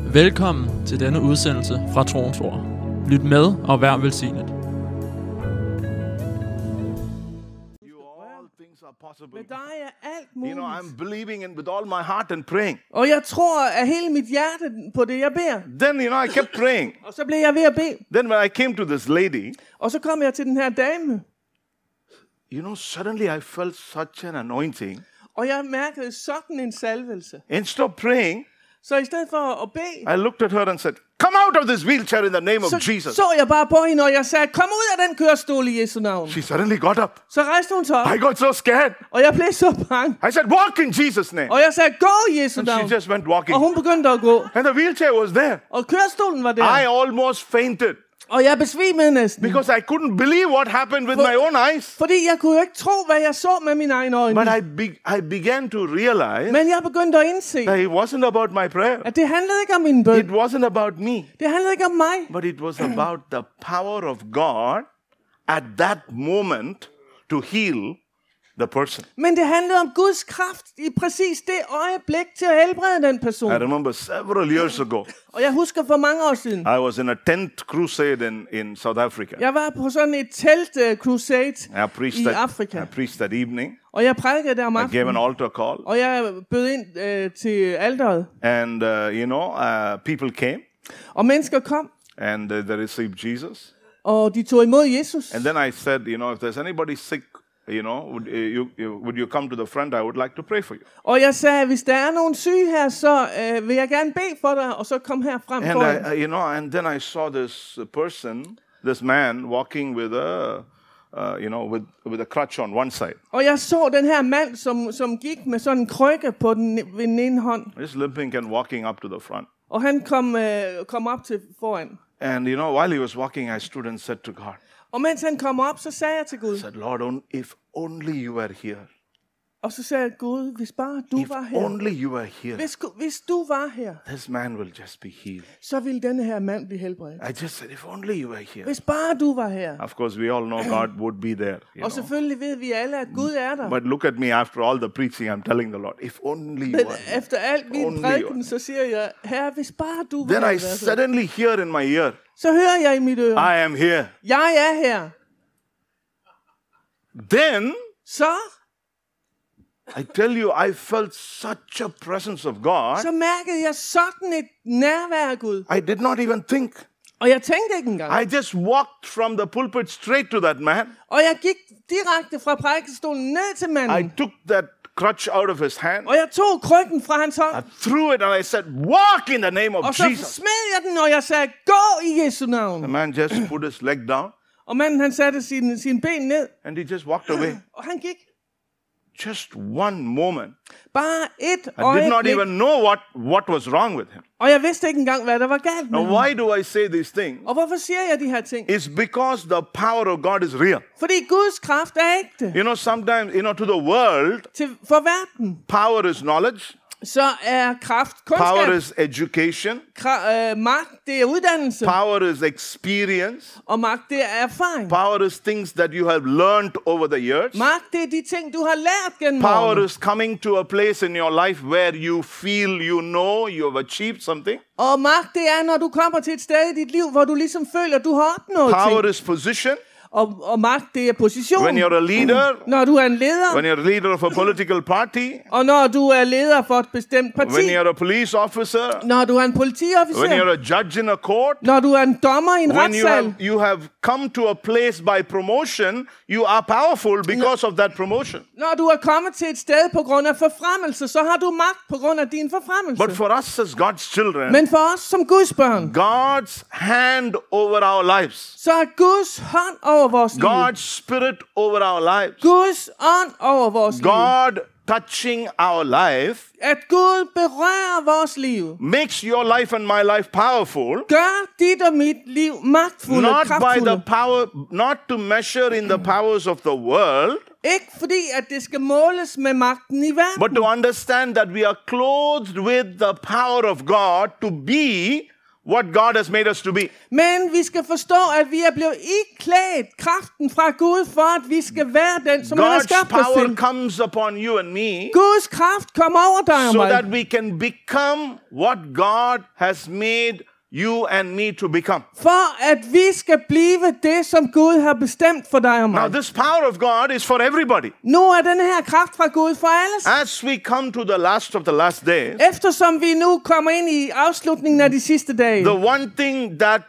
Velkommen til denne udsendelse fra Troens Ord. Lyt med og vær velsignet. Med dig er alt You muligt. know, I'm believing in with all my heart and praying. Og jeg tror af hele mit hjerte på det, jeg beder. Then, I kept praying. Og så blev jeg ved at bede. Then when I came to this lady, Og så kom jeg til den her dame. suddenly I felt such an anointing. Og jeg mærkede sådan en salvelse. Instead of praying, Så i stedet for at bede, I looked at her and said, come out of this wheelchair in the name of Jesus. så jeg bare på hende, og jeg sagde, kom ud af den kørestol i Jesu navn. She suddenly got up. Så rejste hun sig op, I got so scared. og jeg blev så bange. I said, walk in Jesus' name. Og jeg sagde, gå i Jesu And navn. she just went walking. Og hun begyndte at gå. And the wheelchair was there. Og kørestolen var der. I almost fainted Og jeg besvimede næsten. because I couldn't believe what happened with my own eyes. Fordi jeg kunne jo ikke tro, hvad jeg så med mine egne øjne. But I began to realize Men jeg begyndte at indse, that it wasn't about my prayer. at det handlede ikke om min bøn. It wasn't about me. Det handlede ikke om mig. But it was about the power of God at that moment to heal the person. Men det handlede om Guds kraft i præcis det øjeblik til at helbrede den person. I remember several years ago, Og jeg husker for mange år siden. I was in a tent crusade in South Africa. Jeg var på sådan et telt-crusade I preached i that, Afrika. I preached that evening. Og jeg prædikede der om I gave an aftenen. altar call. Og jeg bød ind til alteret. And, people came Og mennesker kom, and they received Jesus. og de tog imod Jesus. And then I said, if there's anybody sick, would you come to the front? I would like to pray for you. Og jeg sagde, hvis der er nogen syge her, så vil jeg gerne bede for dig, og så kom her frem for dig. And and then I saw this man walking with with a crutch on one side. Og jeg så den her mand, som gik med sådan en krykke på ved den ene hånd. Just limping and walking up to the front. Og han kom op til foran. And while he was walking, I stood and said to God, Og mens han kom op, så sagde jeg til Gud. I said, Lord, if only you were here. Og så sagde jeg, Gud, hvis bare du If var her. only you were here, Hvis du var her, this man will just be healed. så ville denne her mand blive helbredt. I just said, if only you were here. Hvis bare du var her. Of course, we all know God would be there. Og selvfølgelig ved vi alle, at Gud er der. But look at me after all the preaching, I'm telling the Lord, if only you Men were here. efter alt min Only prædiken, så siger jeg, Herre, hvis bare du var Then I her. suddenly hear in my ear, Så hører jeg i mit øre, I am here. jeg er her. Then, Så I tell you, I felt such a presence of God. mærkede jeg sådan et nærvær af Gud. I did not even think. Og jeg tænkte ikke engang. I just walked from the pulpit straight to that man. Og jeg gik direkte fra prædikestolen ned til I manden. took that crutch out of his hand. Og jeg tog krykken fra hans hånd. I threw it and I said, walk in the name Og of så Jesus. smed jeg den, og jeg sagde, gå i Jesu The navn. man just put his leg down Og manden, han satte sin ben ned, and he just walked away. og han gik. Just one moment. Bare et I did not øjeblik. even know what was wrong with him. Og jeg vidste ikke engang, hvad der var galt med Now, ham. why do I say these things? Og hvorfor siger jeg de her ting? It's because the power of God is real. Fordi Guds kraft er ægte. Sometimes, to the world, For verden, power is knowledge, så er kraft power kundskab. is education, Magt, det er uddannelse. power is experience, Og magt, det er erfaring. power is things that you have learned over the years. Magt, det er de ting, du har lært gennem Power årene. is coming to a place in your life where you feel you have achieved something. Og magt, det er, når du kommer til et sted i dit liv, hvor du ligesom føler, at du har opnået Power ting. is position. Og magt, det er position. When you're a leader, Når du er en leder, when you're a leader of a political party, og når du er leder for et bestemt parti, when you're a police officer, når du er en when politiofficer, you're a judge in a court, når du er en dommer i en when retssal, you have come to a place by promotion, you are powerful because of that promotion. når du er kommet til et sted på grund af forfremmelse, så har du magt på grund af din forfremmelse. But for us as God's children, Men for os som Guds børn, God's hand over our lives, så er Guds hånd over vores liv. God's spirit over our lives, Guds ånd over vores liv. God touching our life At Gud berører vores liv. makes your life and my life powerful. Gør dit og mit liv magtfulde og Not by the kraftfulde. power, not to measure in the powers of the world, Ikke fordi, at det skal måles med magten i verden, but to understand that we are clothed with the power of God to be what God has made us to be. Men vi skal forstå, at vi er blevet iklædt kraften fra Gud, for at vi skal være den, som han har God's skabt os power til. comes upon you and me Guds kraft kommer over dig og so mig, that we can become what God has made you and me to become. for at vi skal blive det, som Gud har bestemt for dig og Now, mig. this power of God is for everybody. Nu er den her kraft fra Gud for alle. As we come to the last of the last days, Eftersom vi nu kommer ind i afslutningen af de sidste dage, the one thing that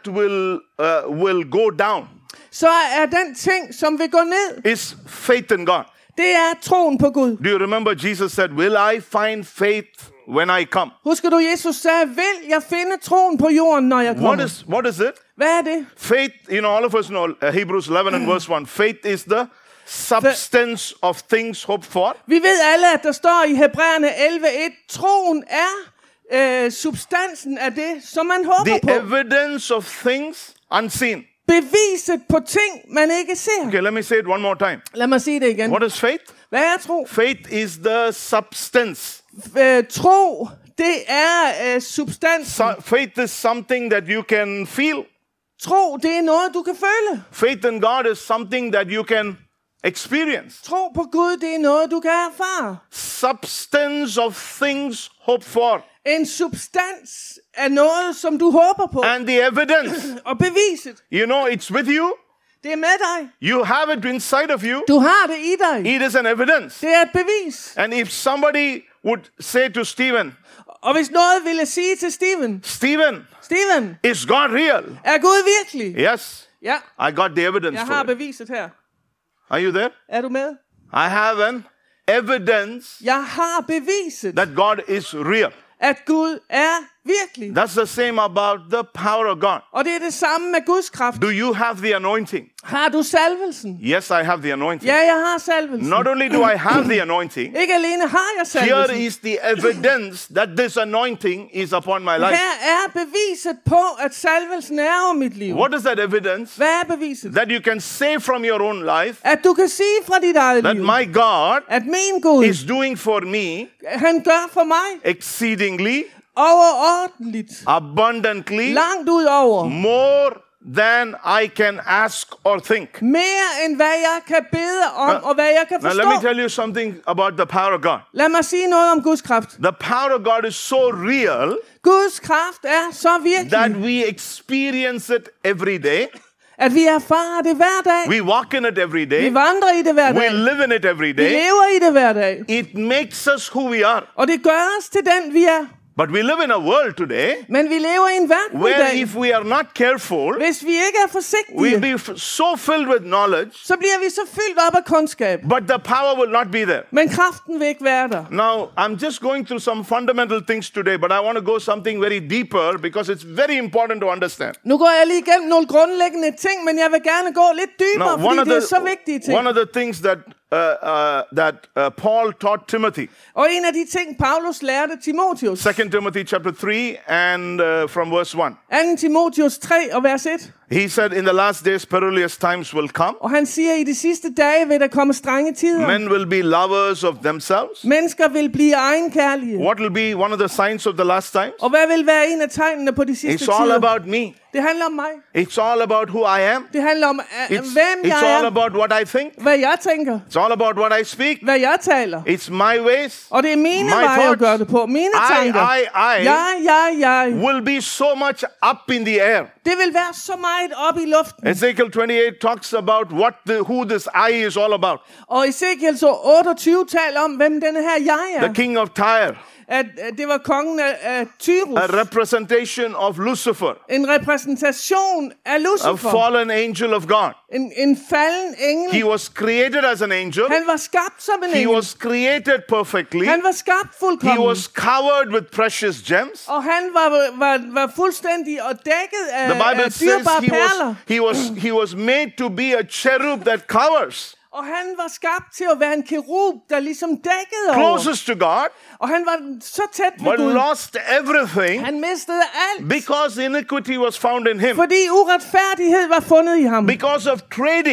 will go down så er den ting, som vil gå ned, is faith in God. det er troen på Gud. Do you remember Jesus said, "Will I find faith when I come?" Husker du, Jesus sagde, vil jeg finde troen på jorden, når jeg kommer? What is it? Hvad er det? Faith, all of us know Hebrews 11 and verse 1. Faith is the substance of things hoped for. Vi ved alle, at der står i Hebræerne 11:1, troen er substansen af det, som man håber The på. evidence of things unseen. Beviset på ting, man ikke ser. Okay, let me say it one more time. Lad mig sige det igen. What is faith? Hvad er tro? Faith is the substance. Tro, det er substansen. Faith is something that you can feel. Tro, det er noget, du kan føle. Faith in God is something that you can experience. Tro på Gud, det er noget, du kan erfare. Substance of things hoped for. En substans er noget, som du håber på. And the evidence, Og beviset, it's with you. det er med dig. You have it inside of you. Du har det i dig. It is an evidence. Det er et bevis. And if somebody would say to Stephen, Og hvis noget ville sige til Steven, Steven, is God real? er Gud virkelig? Yes, Ja, I got the evidence jeg for har it. beviset her. Are you there? Er du med? I have an evidence Jeg har beviset, that God is real. at Gud er virkelig. That's the same about the power of God. Og det er det samme med Guds kraft. Do you have the anointing? Har du salvelsen? Yes, I have the anointing. Ja, jeg har salvelsen. Not only do I have the anointing, Ikke alene har jeg here salvelsen. is the evidence that this anointing is upon my life. Her er beviset på, at salvelsen er over mit liv. What is that evidence? Hvad er beviset? That you can say from your own life At du kan sige fra dit eget that liv, my God at min Gud, is doing for me han gør for mig exceedingly, overordentligt, abundantly, langt ud over, more than I can ask or think. mere end hvad jeg kan bede om, og hvad jeg kan Now let me forstå. tell you something about the power of God. Lad mig sige noget om Guds kraft. The power of God is so real Guds kraft er så that virkelig, we experience it every day. at vi erfarer det hver dag. We walk in it every Vi day. vandrer i det hver We dag. live in it every Vi day. lever i det hver dag. It makes us who we are. Og det gør os til den, vi er. But we live in a world today Men vi lever i en verden i where dag. if we are not careful, Hvis vi ikke er we'll forsigtige, be so filled with knowledge, så bliver vi så fyldt op af kundskab. but the power will not be there. Men kraften vil ikke være der. Now, I'm just going through some fundamental things today, but I want to go something very deeper because it's very important to understand. Nu går jeg lige igennem nogle grundlæggende ting, men jeg vil gerne gå lidt dybere, Now, fordi det er så vigtige ting. one of the things that Paul taught Timothy, Og en af de ting, Paulus lærte Timotheus. 2 Timothy chapter 3 and from verse 1. 2. Timotheus 3 og vers 1. He said, in the last days, perilous times will come. Og han siger, i de sidste dage vil der komme strenge tider. Men will be lovers of themselves. Mennesker vil blive egenkærlige. What will be one of the signs of the last times? Og hvad vil være en af tegnene på de sidste It's all tider? about me. Det handler om mig. It's all about who I am. Det handler om, hvem It's jeg all er. about what I think. Hvad jeg tænker. It's all about what I speak. Hvad jeg taler. It's my ways. Og det er mine My veje at thoughts. gøre det på. Mine tanker. Jeg. Will be so much up in the air. Det vil være så meget op i luften. Ezekiel 28 talks about who this I is all about. Og Ezekiel så 28 taler om, hvem denne her jeg er. The king of Tyre. At det var kongen af Tyrus. A representation of Lucifer. En repræsentation af A Lucifer. fallen angel of God. En falden engel. He was created as an angel. Han var skabt som en He engel. was created perfectly. Han var skabt He fuldkommen. was covered with precious gems. Og han var fuldstændig og dækket af The Bible says dyrebare perler. he was made to be a cherub that covers. Og han var skabt til at være en kerub, der ligesom dækkede over. Closest to God, Og han var så tæt ved but Gud. lost everything Han mistede alt. because iniquity was found in him. Fordi uretfærdighed var fundet i ham. Because of trading.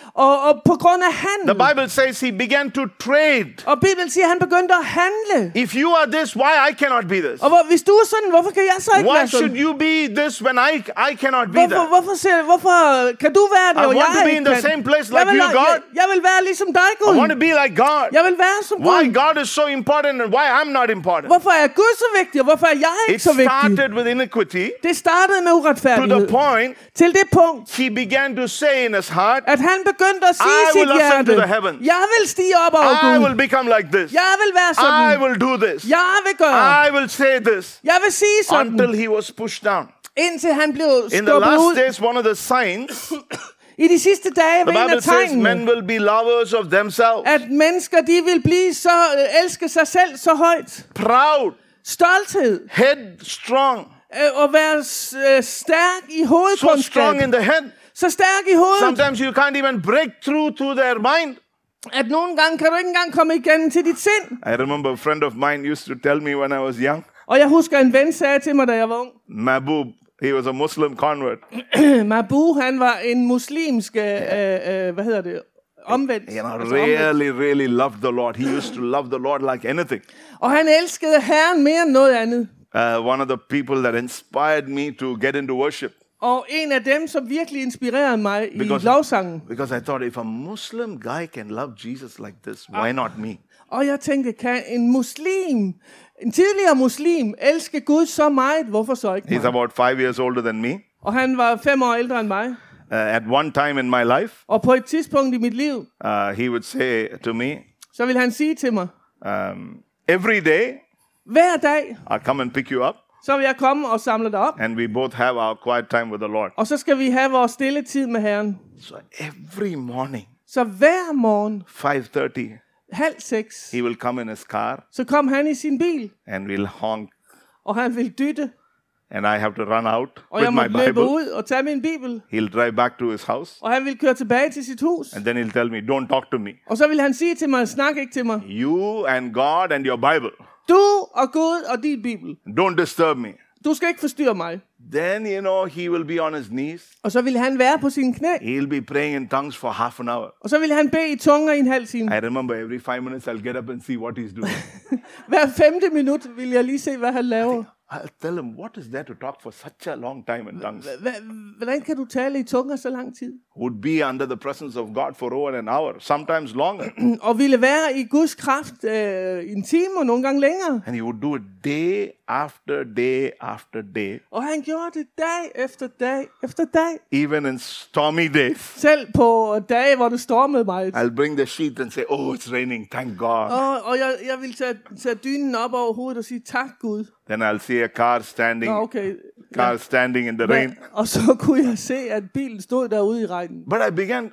Og på grund af handel. The Bible says he began to trade. Og Bibelen siger, at han begyndte at handle. If you are this, why I cannot be this? Og hvis du er sådan, hvorfor kan jeg så ikke Why være should sådan? you be this when I cannot be that? Hvorfor kan du være det, I og want to jeg be in ikke the kan? same place like you, God. Jeg vil være ligesom dig, I Gud. want to be like God. Jeg vil være som Why Gud. God is so important and why I'm not important? Hvorfor er Gud så vigtig, og hvorfor er jeg It ikke så vigtig? started with iniquity Det startede med to the uretfærdighed. point Til det punkt, he began to say in his heart, at han begyndte at sige I i sit will ascend to hjerte, the heavens. jeg vil stige op over I Gud. will become like this. Jeg vil være I sådan. will do this. Jeg vil gøre. I will say this. Jeg vil sige sådan. Until he was pushed down. Indtil han blev In the skubbet last ud. days, one of the signs, I de sidste dage var the en Bible af says tegnene, men will be lovers of themselves, at mennesker, de vil blive så, elske sig selv så højt. proud, Stolthed. headstrong, Og være stærk i so hovedkundskab. strong in the head. Så stærk i hovedet, Sometimes you can't even break through to their mind. at nogle gange kan du ikke engang komme igennem til dit sind. I remember a friend of mine used to tell me when I was young, Og jeg husker, en ven sagde til mig, da jeg var ung. Mahbub, he was a Muslim convert. Mabu, han var en muslimsk, omvendt. You know, Altså omvendt. really loved the Lord. He used to love the Lord like anything. Og han elskede Herren mere end noget andet. One of the people that inspired me to get into worship. Og en af dem, som virkelig inspirerede mig i lovsangen. Because I thought, if a Muslim guy can love Jesus like this, why not me? Og jeg tænkte, kan en tidligere muslim, elske Gud så meget, hvorfor så ikke He's mig? about 5 years older than me. Og han var 5 år ældre end mig. At one time in my life, Og på et tidspunkt i mit liv, he would say to me, så ville han sige til mig, every day hver dag, I'll come and pick you up, så vil jeg komme og samle dig op. and we both have our quiet time with the Lord. Og så skal vi have vores stille tid med Herren. So every morning, Så hver morgen, 5:30, 5:30, he will come in his car så kom han i sin bil, and we'll honk, og han ville dytte. and I have to run out Og with jeg my måtte løbe Bible. ud og tage min bibel. He'll drive back to his house, Og han ville køre tilbage til sit hus. and then he'll tell me, don't talk to me. Og så ville han sige til mig, snak ikke til mig. You and God and your Bible. Du og Gud og din bibel. Don't disturb me. Du skal ikke forstyrre mig. Then, he will be on his knees. Og så ville han være på sine knæ. He'll be praying in tongues for half an hour. Og så ville han bede i tunger i en halv time. I remember every 5 minutes I'll get up and see what he's doing. Hver 5. minut ville jeg lige se, hvad han laver. I'll tell him, what is there to talk for such a long time in tongues? Hvordan kan du tale i tunger så lang tid? Would be under the presence of God for over an hour, sometimes longer. Og ville være i Guds kraft i en time og nogle gange længere. And he would do it day after day after day. Og han gjorde det dag efter dag efter dag. Even in stormy days. Selv på dage, hvor det stormede meget. I'll bring the sheet and say, oh, it's raining, thank God. Og jeg ville tage dynen op over hovedet og sige, tak Gud. Then I'll see a car standing, Okay. standing in the rain. Og så kunne jeg se, at bilen stod derude i regnen. But I began,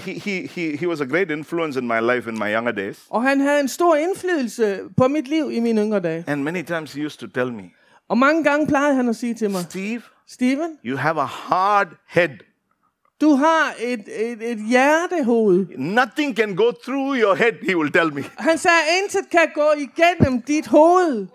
he was a great influence in my life in my younger days. Og han havde en stor indflydelse på mit liv i mine yngre dage. And many times he used to tell me, Og mange gange plejede han at sige til mig, Steven, you have a hard head. du har et hjertehoved. Nothing can go through your head, he will tell me. Han sagde, intet kan gå igennem dit hoved.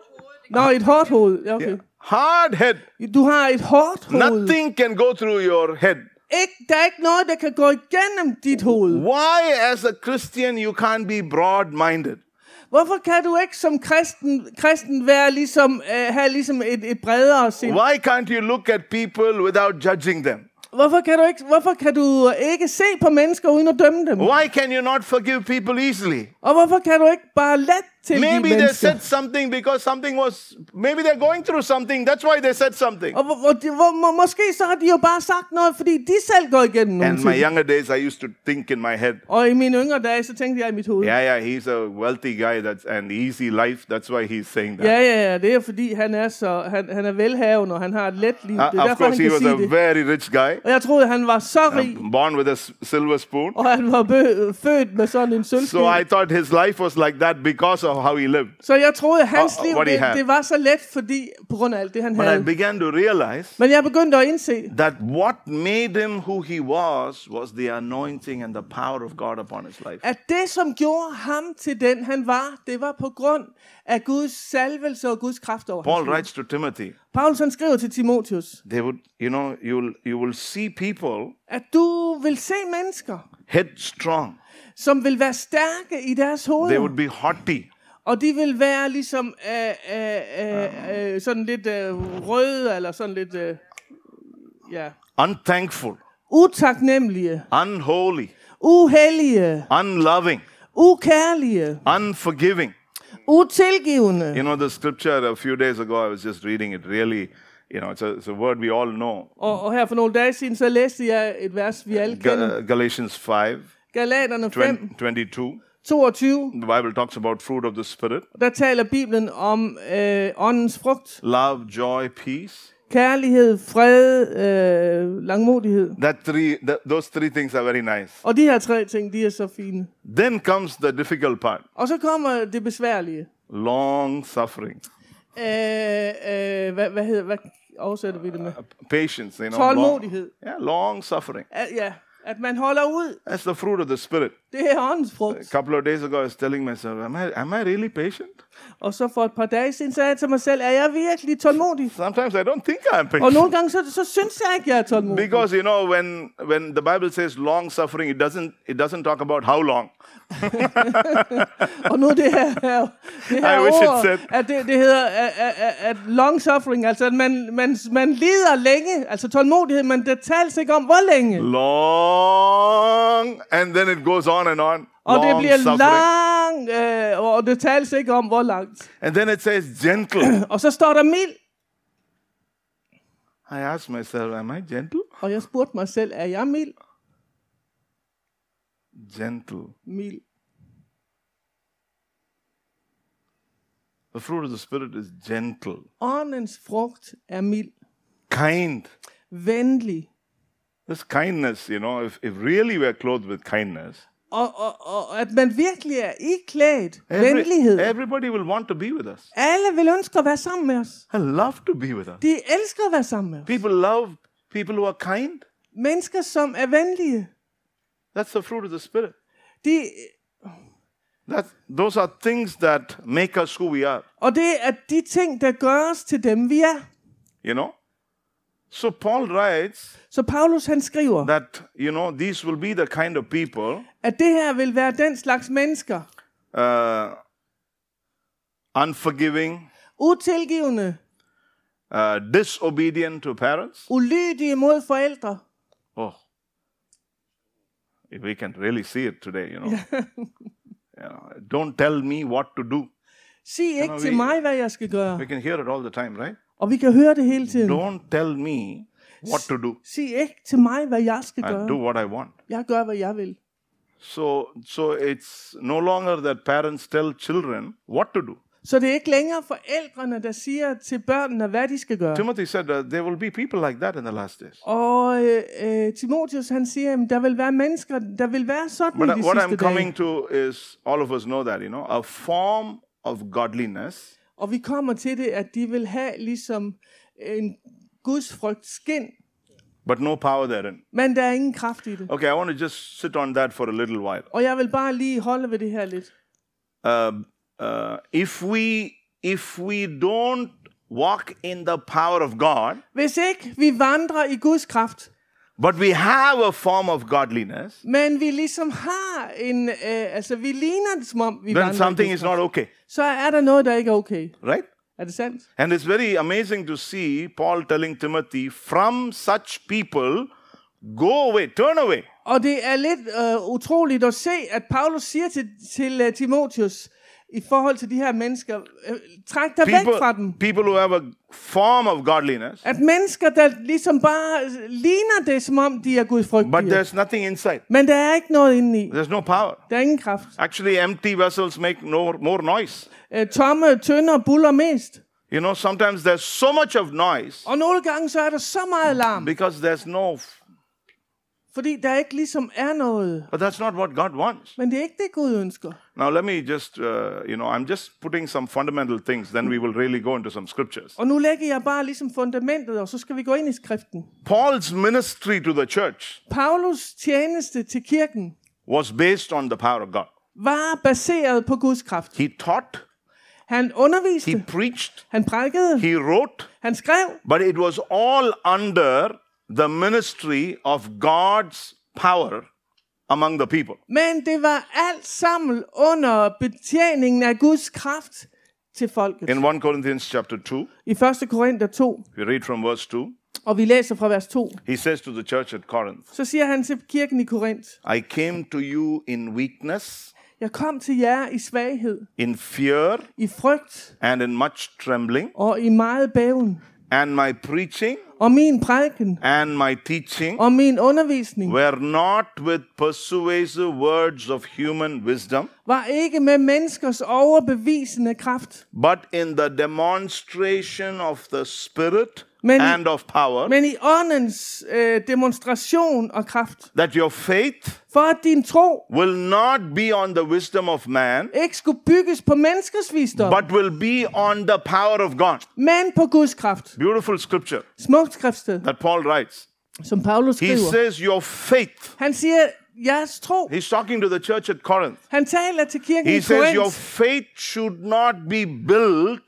Et hårdt hoved. Ja, okay. Yeah. Hard head. Du har et hårdt hoved. Nothing can go through your head. Der er ikke noget, der kan gå igennem dit hoved. Why, as a Christian, you can't be broad-minded? Hvorfor kan du ikke som kristen være have et bredere sind? Why can't you look at people without judging them? Hvorfor kan du ikke se på mennesker uden at dømme dem? Why can you not forgive people easily? Og hvorfor kan du ikke bare let tilgive Maybe they mennesker? said something because maybe they're going through something. That's why they said something. Og måske så har de jo bare sagt noget, fordi de selv går igennem nogle And my ting. younger days, I used to think in my head, Og i mine yngre dage, så tænkte jeg i mit hoved. yeah, he's a wealthy guy and easy life. That's why he's saying that. Ja, det er fordi han er velhavende, og han har et let liv. Det er Of derfor, course, han he kan was sige a det. very rich guy, Og jeg troede, han var så rig, born with a silver spoon. og han var født med sådan en sølvske. So I thought his life was like that because of how he lived. Så jeg troede, at hans liv, what he had. det var så let, fordi på grund af alt det, han But I havde. began to realize Men jeg begyndte at indse, that what made him who he was the anointing and the power of God upon his life. at det, som gjorde ham til den, han var, det var på grund af Guds salvelse og Guds kraft over Paul hans liv. writes to Timothy, Paulus han skriver til Timotheus, they would, you will see people at du vil se mennesker, headstrong. som vil være stærke i deres They hoveder. would be haughty. Og de vil være ligesom sådan lidt røde, eller sådan lidt Unthankful. utaknemmelige, Unholy. uhellige, Unloving. ukærlige, Unforgiving. utilgivende. You know the scripture a few days ago, I was just reading it. Really, it's a word we all know. Og her for nogle dage siden, så læste jeg et vers, vi alle kender. Galatians 5, Galaterne 5, 22. 22. The Bible talks about fruit of the Spirit. Der taler Bibelen om åndens frugt. Love, joy, peace. Kærlighed, fred, langmodighed. Those three things are very nice. Og de her tre ting, de er så fine. Then comes the difficult part. Og så kommer det besværlige. Long suffering. Hvad oversætter vi det med? Patience, Tålmodighed. Long suffering. At man holder ud. That's the fruit of the Spirit. Det er åndens frugt. A couple of days ago, I was telling myself, am I really patient? Og så for et par dage siden sagde jeg til mig selv, er jeg virkelig tålmodig? Sometimes I don't think I'm patient. Og nogle gange så synes jeg ikke, jeg er tålmodig. Because when the Bible says long suffering, it doesn't talk about how long. Og nu det her ord, at det hedder at long suffering, altså at man lider længe, altså tålmodighed, men det tales ikke om hvor længe. Long, and then it goes on and on. Og long det bliver suffering. lang, og det tales ikke om hvor langt. And then it says gentle. Og så står der mild. I asked myself, am I gentle? Og jeg spurgte mig selv, er jeg mild? Gentle. Mild. The fruit of the Spirit is gentle. Åndens frugt er mild. Kind. Venlig. This kindness, if really we're clothed with kindness, Og at man virkelig er iklædt venlighed. Everybody will want to be with us. Alle vil ønske at være sammen med os. I love to be with us. De elsker at være sammen med os. People love people who are kind. Mennesker, som er venlige. That's the fruit of the Spirit. De, Those are things that make us who we are. og det er de ting, der gør os til dem, vi er. So Paul writes Så Paulus han skriver, that, these will be the kind of people, at det her vil være den slags mennesker. Unforgiving, Utilgivende, disobedient to parents. ulydige mod forældre. Oh, if we can really see it today, Don't tell me what to do. Sig ikke til mig, hvad jeg skal gøre. We can hear it all the time, right? Og vi kan høre det hele tiden. Don't tell me what to do. Sig ikke til mig, hvad jeg skal I gøre. do what I want. Jeg gør, hvad jeg vil. So it's no longer that parents tell children what to do. Så det er ikke længere forældrene, der siger til børnene, hvad de skal gøre. Timothy said there will be people like that in the last days. Og Timotheus han siger, at der vil være mennesker, der vil være sådan i de What sidste I'm coming dage. to is, all of us know that, a form of godliness. Og vi kommer til det, at de vil have ligesom en gudsfrygt skin, but no power therein. men der er ingen kraft i det. Okay, I want to just sit on that for a little while. Og jeg vil bare lige holde ved det her lidt. If we don't walk in the power of God, Hvis ikke vi vandrer i Guds kraft, but we have a form of godliness, men vi ligesom har en, vi ligner det som om vi then vandrer i something Guds is not kraft, okay, så er der noget, der ikke er okay. right? Er det sandt? And it's very amazing to see Paul telling Timothy, from such people, go away, turn away. Og det er lidt utroligt at se, at Paulus siger til Timotheus, i forhold til de her mennesker, træk dig væk fra dem. People who have a form of godliness, At mennesker, der ligesom bare ligner det, som om de er but gudfrygtige. there's nothing inside. Men der er ikke noget indeni. There's no power. Der er ingen kraft. Actually, empty vessels make more noise. Tomme tønder buller mest. Sometimes there's so much of noise Og nogle gange så er der så meget larm, because there's no, fordi der ikke ligesom er noget. but that's not what God wants. Men det er ikke det, Gud ønsker. Now, let me just, I'm just putting some fundamental things, then we will really go into some scriptures. Og nu lægger jeg bare ligesom fundamentet, og så skal vi gå ind i skriften. Paul's ministry to the church Paulus tjeneste til kirken was based on the power of God. var baseret på Guds kraft. He taught, Han underviste, he preached, han prædikede, he wrote, han skrev, but it was all under the ministry of God's power among the people. Men det var alt sammen under betjeningen af Guds kraft til folket. In 1 Corinthians chapter 2, I 1. Korinther 2, we read from verse 2. og vi læser fra vers 2, He says to the church at Corinth, så siger han til kirken i Korinth: I came to you in weakness, Jeg kom til jer i svaghed, in fear, i frygt and in much trembling, og i meget bæven. and my preaching Og min prædiken and my teaching og min undervisning were not with persuasive words of human wisdom, var ikke med menneskers overbevisende kraft, but in the demonstration of the Spirit Men- and of power, men i åndens demonstration og kraft. that your faith For at din tro will not be on the wisdom of man, ikke skulle bygges på menneskers visdom, but will be on the power of God. men på Guds kraft. Beautiful scripture Smukt skriftsted, that Paul writes. som Paulus He skriver. says your faith. Han siger, jeres tro. He's talking to the church at Corinth. Han taler til kirken He i says your Korinth. faith should not be built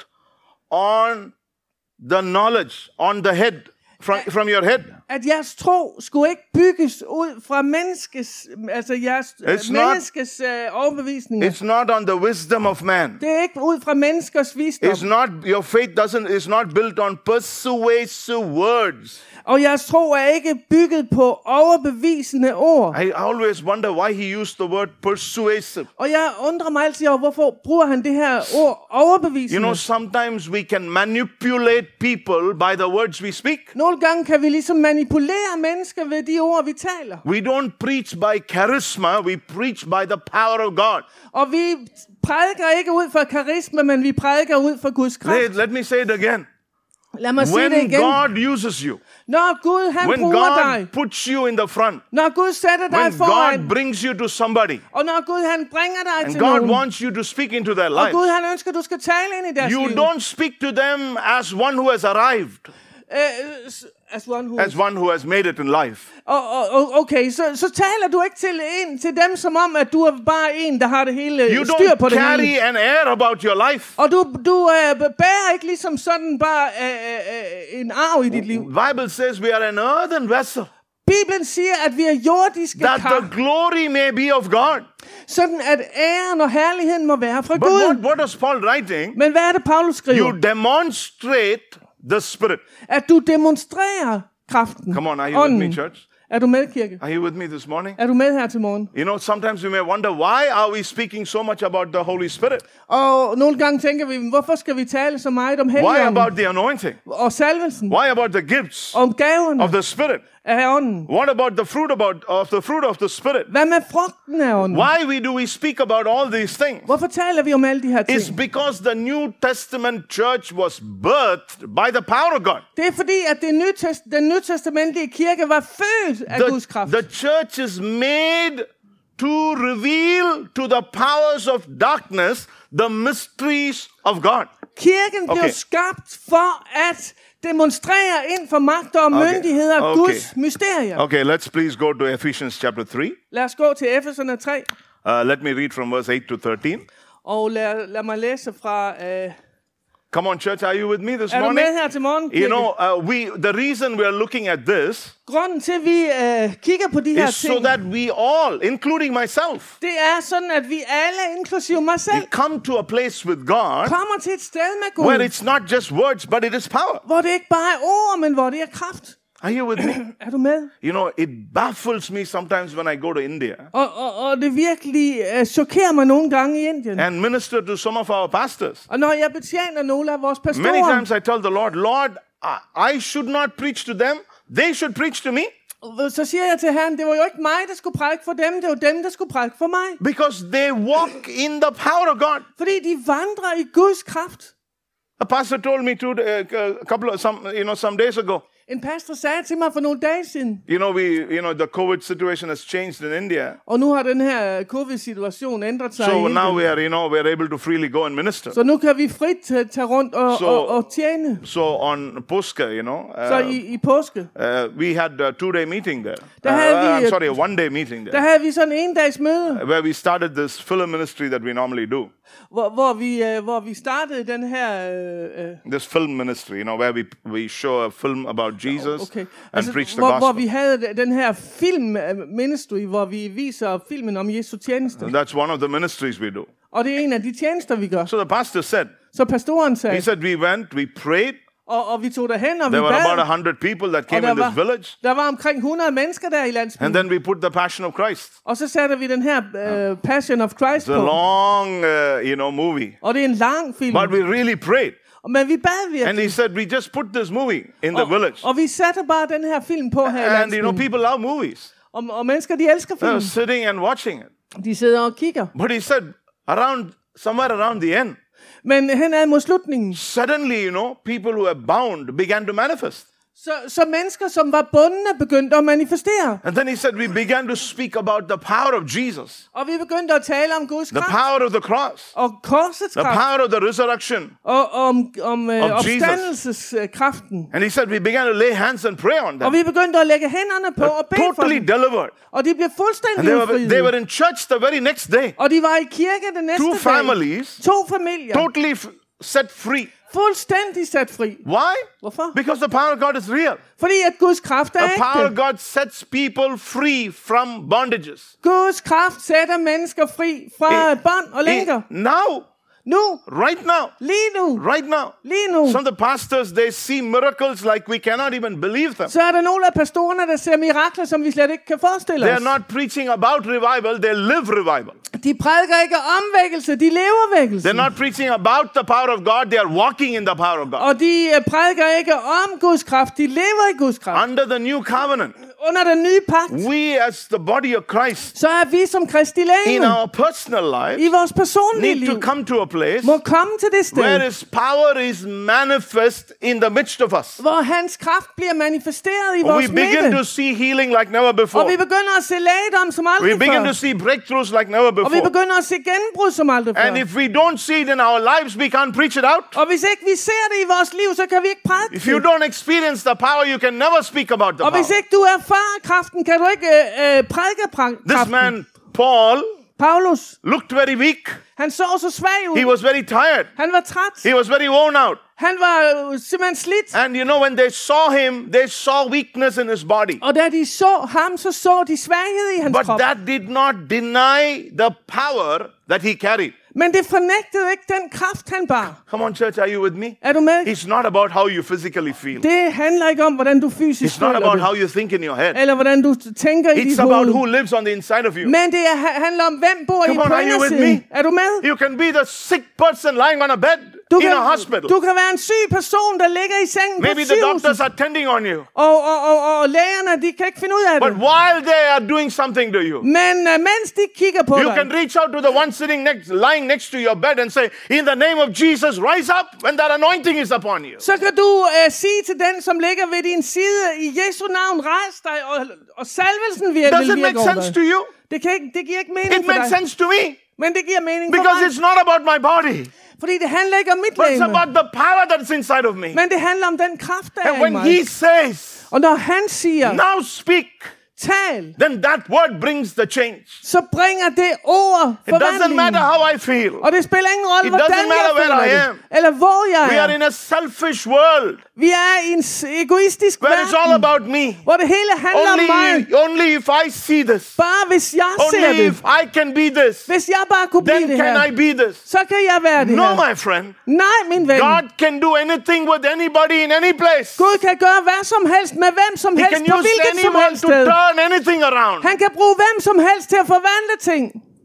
on the knowledge, on the head, from your head. At jeres tro skulle ikke bygges ud fra menneskes, altså jeres menneskes overbevisninger. It's not on the wisdom of man. Det er ikke ud fra menneskers visdom. It's not, your faith is not built on persuasive words. Og jeres tro er ikke bygget på overbevisende ord. I always wonder why he used the word persuasive. Og jeg undrer mig altid over, hvorfor bruger han det her ord overbevisende. You know, sometimes we can manipulate people by the words we speak. Nogle gange kan vi ligesom manipulere mennesker ved de ord, vi taler. We don't preach by charisma, we preach by the power of God. Og vi prædiker ikke ud fra karisma, men vi prædiker ud fra Guds kraft. Let me say it again. Lad mig sige det When igen. God uses you, Når Gud han when bruger God dig, puts you in the front, når Gud sætter dig when foran, God brings you to somebody, og når Gud han bringer dig and til God nogen, wants you to speak into their og Gud lives, han ønsker, at du skal tale ind i deres you liv. don't speak to them as one who has arrived, as one who has made it in life. Okay, så taler du ikke til dem som om, at du er bare en, der har det hele You styr på don't det carry hele. an air about your life. Og du bærer ikke ligesom sådan bare en arv i dit liv. Bible says we are an earthen vessel, Bibelen siger, at vi er jordiske that kar, the glory may be of God. sådan at æren og herligheden må være fra But Gud. what is Paul writing? Men hvad er det, Paulus skriver? You demonstrate the Spirit. At du demonstrerer kraften. Come on, are you with me, Ånden. church? Er du med, kirke? Are you with me this morning? Er du med her til morgen? You know, sometimes we may wonder, why are we speaking so much about the Holy Spirit? Og nogle gange tænker vi, hvorfor skal vi tale så meget om Why helligånden about the anointing? og salvelsen, Why about the gifts om gaverne of the Spirit? af ånden? What about the fruit of the Spirit? Hvad med frugten af ånden? Why do we speak about all these things? Hvorfor taler vi om alle de her ting? It's because the New Testament church was birthed by the power of God. Det er fordi, at den nytestamentlige kirke var født af Guds kraft. The church is made to reveal to the powers of darkness the mysteries of God. Kirken blev skabt for at demonstrere ind for magter og myndigheder Guds mysterier. Okay, let's please go to Ephesians chapter 3. Lad os gå til Efeserne 3, Let me read from verse 8 to 13. og lad mig læse fra... Come on, church, are you with me this Er du morning? med her til morgen, You kirke? know, the reason we are looking at this Grunden til, at vi kigger på de her is so ting, that we all, including myself, det er sådan, at vi alle, inklusive mig selv, we come to a place with God kommer til et sted med where Gud, it's not just words, but it is power. hvor det ikke bare er ord, men hvor det er kraft. Are you with me? Er du med? You know, it baffles me sometimes when I go to India Og det virkelig chokerer mig nogle gange i Indien. and minister to some of our pastors. Og når jeg betjener nogle af vores Many pastorer, times I tell the Lord, I should not preach to them. They should preach to me. så siger jeg til Herren, det var jo ikke mig, der skulle prædike for dem, det var dem, der skulle prædike for mig. Because they walk in the power of God. Fordi de vandrer i Guds kraft. A pastor told me some days ago. En pastor sagde til mig for nogle dage siden, The COVID situation has changed in India. og nu har den her covid-situation ændret sig i So Indien. now we're able to freely go and minister. Så nu kan vi frit tage rundt og tjene. So on Puska, Så i påske, we had a 2-day meeting there. Der havde vi I'm sorry, a 1-day meeting der there. havde vi sådan en dags møde, Where we started this film ministry that we normally do. hvor vi startede den her This film ministry, where we show a film about about Jesus Okay. and preach the hvor gospel. vi havde den her film ministry, hvor vi viser filmen om Jesu tjeneste. And that's one of the ministries we do. Og det er en af de tjenester, vi gør. So the pastor said, Så pastoren he sagde, said, we went, we prayed. og vi tog derhen, og vi There were about bad. 100 people that Og came in this village. der var omkring 100 mennesker der i landsbyen. And then we put the Passion of Christ. Og så satte vi den her Passion of Christ It's a på. long, movie. Og det er en lang film. But we really prayed. Men vi bad And virkelig. he said, we just put this movie in the village. Og vi satte bare den her film på her i And, landsbyen. people love movies. Og mennesker, de elsker They're film. sitting and watching it. De sidder og kigger. But he said, somewhere around the end, Men henad mod slutningen, suddenly, people who are bound began to manifest. så mennesker, som var bundne, begyndte at manifestere. And then he said, we began to speak about the power of Jesus, Og vi begyndte at tale om Guds the kraft. power of the cross, Og korsets the kraft. power of the resurrection. Og om of Jesus. opstandelseskraften. And he said, we began to lay hands and pray on Og them. vi begyndte at lægge hænderne på og bede for Totally dem. delivered. Og de blev And fuldstændig they udfriet. were in church the very next day. Og de var i kirke den næste Two dag. families, 2 familier. totally set free. Fuldstændig sat fri. Why? Hvorfor? Because the power of God is real. Fordi at Guds kraft er The power of ægte. God sets people free from bondages. Guds kraft sætter mennesker fri fra bånd og lænker. Now, Nu. right now, Lige nu. right now. Lige nu. Some of the pastors, they see miracles like we cannot even believe them. Så er der nogle af pastorerne, der ser mirakler, som vi slet ikke kan forestille They os. are not preaching about revival, they live revival. De prædiker ikke om vækkelse, de lever vækkelse. They're not preaching about the power of God, they are walking in the power of God. Og de prædiker ikke om Guds kraft, de lever i Guds kraft. Under the new covenant, Under den nye pagt, we as the body of Christ, så er vi som Kristi in legeme our personal i life, vores personlige need to liv, come to a place må komme til det sted, where His power is manifest in the midst of us. hvor hans kraft bliver manifesteret i We vores begin midte. to see healing like never Og before. vi begynder at se lægedom som aldrig We begin før. to see breakthroughs like never Og vi before. begynder at se gennembrud som aldrig før. And if we don't see it in our lives, we can't preach it out. Og hvis ikke vi ser det i vores liv, så kan vi ikke prædike If you det. don't experience the power, you can never speak about the Og hvis power. ikke du erfarer kraften, kan du ikke prædike This kraften. man, Paul, Paulus, looked very weak. han så så svag ud. He was very tired. Han var træt. He was very worn out. Han var simpelthen slidt. And when they saw him, they saw weakness in his body. Og da de så ham, så de svaghed i hans But krop. that did not deny the power that he carried. Men det fornægtede ikke den kraft, han bar. Come on, church, are you with me? Er du med? It's not about how you physically feel. Det handler ikke om, hvordan du fysisk It's not føler about det. how you think in your head. Eller hvordan du tænker i It's dit about hoved. who lives on the inside of you. Men det handler om, hvem bor i Come on, på are you with indersiden. me? Er du med? You can be the sick person lying on a bed in a hospital. Du kan være en syg person, der ligger i sengen Maybe på the doctors sygehuset. are tending on you. Og lægerne, de kan ikke finde ud af But det. while they are doing something to you, Men mens de kigger på you dig, can reach out to the one lying next to your bed and say, in the name of Jesus, rise up when that anointing is upon you. så kan du sige til den, som ligger ved din side, i Jesu navn, rejs dig, og salvelsen vil Does it virke make over sense dig. to you? Det giver ikke mening It for makes dig. sense to me. Men det giver mening for Because mig. it's not about my body, Fordi det handler ikke om mit but it's legeme. about the power that's inside of me. Men det handler om den kraft, der And er i when mig. he says, Og når han siger, now speak, tal, then that word brings the change. så bringer det ord It doesn't forvandling. matter how I feel. Og det spiller ingen rolle, It hvordan doesn't matter jeg føler where I det. am. Eller hvor jeg We are er. in a selfish world Vi er i en egoistisk where it's all verden, about me. hvor det hele handler om mig. Only if I see this, Bare hvis jeg ser only det. if I can be this, Hvis jeg bare kunne blive then det can I her, be this. så kan jeg være det No, her. my friend. Nej, min ven. God can do anything with anybody in any place. Gud kan gøre hvad som helst med hvem som He helst can på use hvilket som anyone helst to sted. turn anything around. Han kan bruge hvem som helst til at forvandle ting.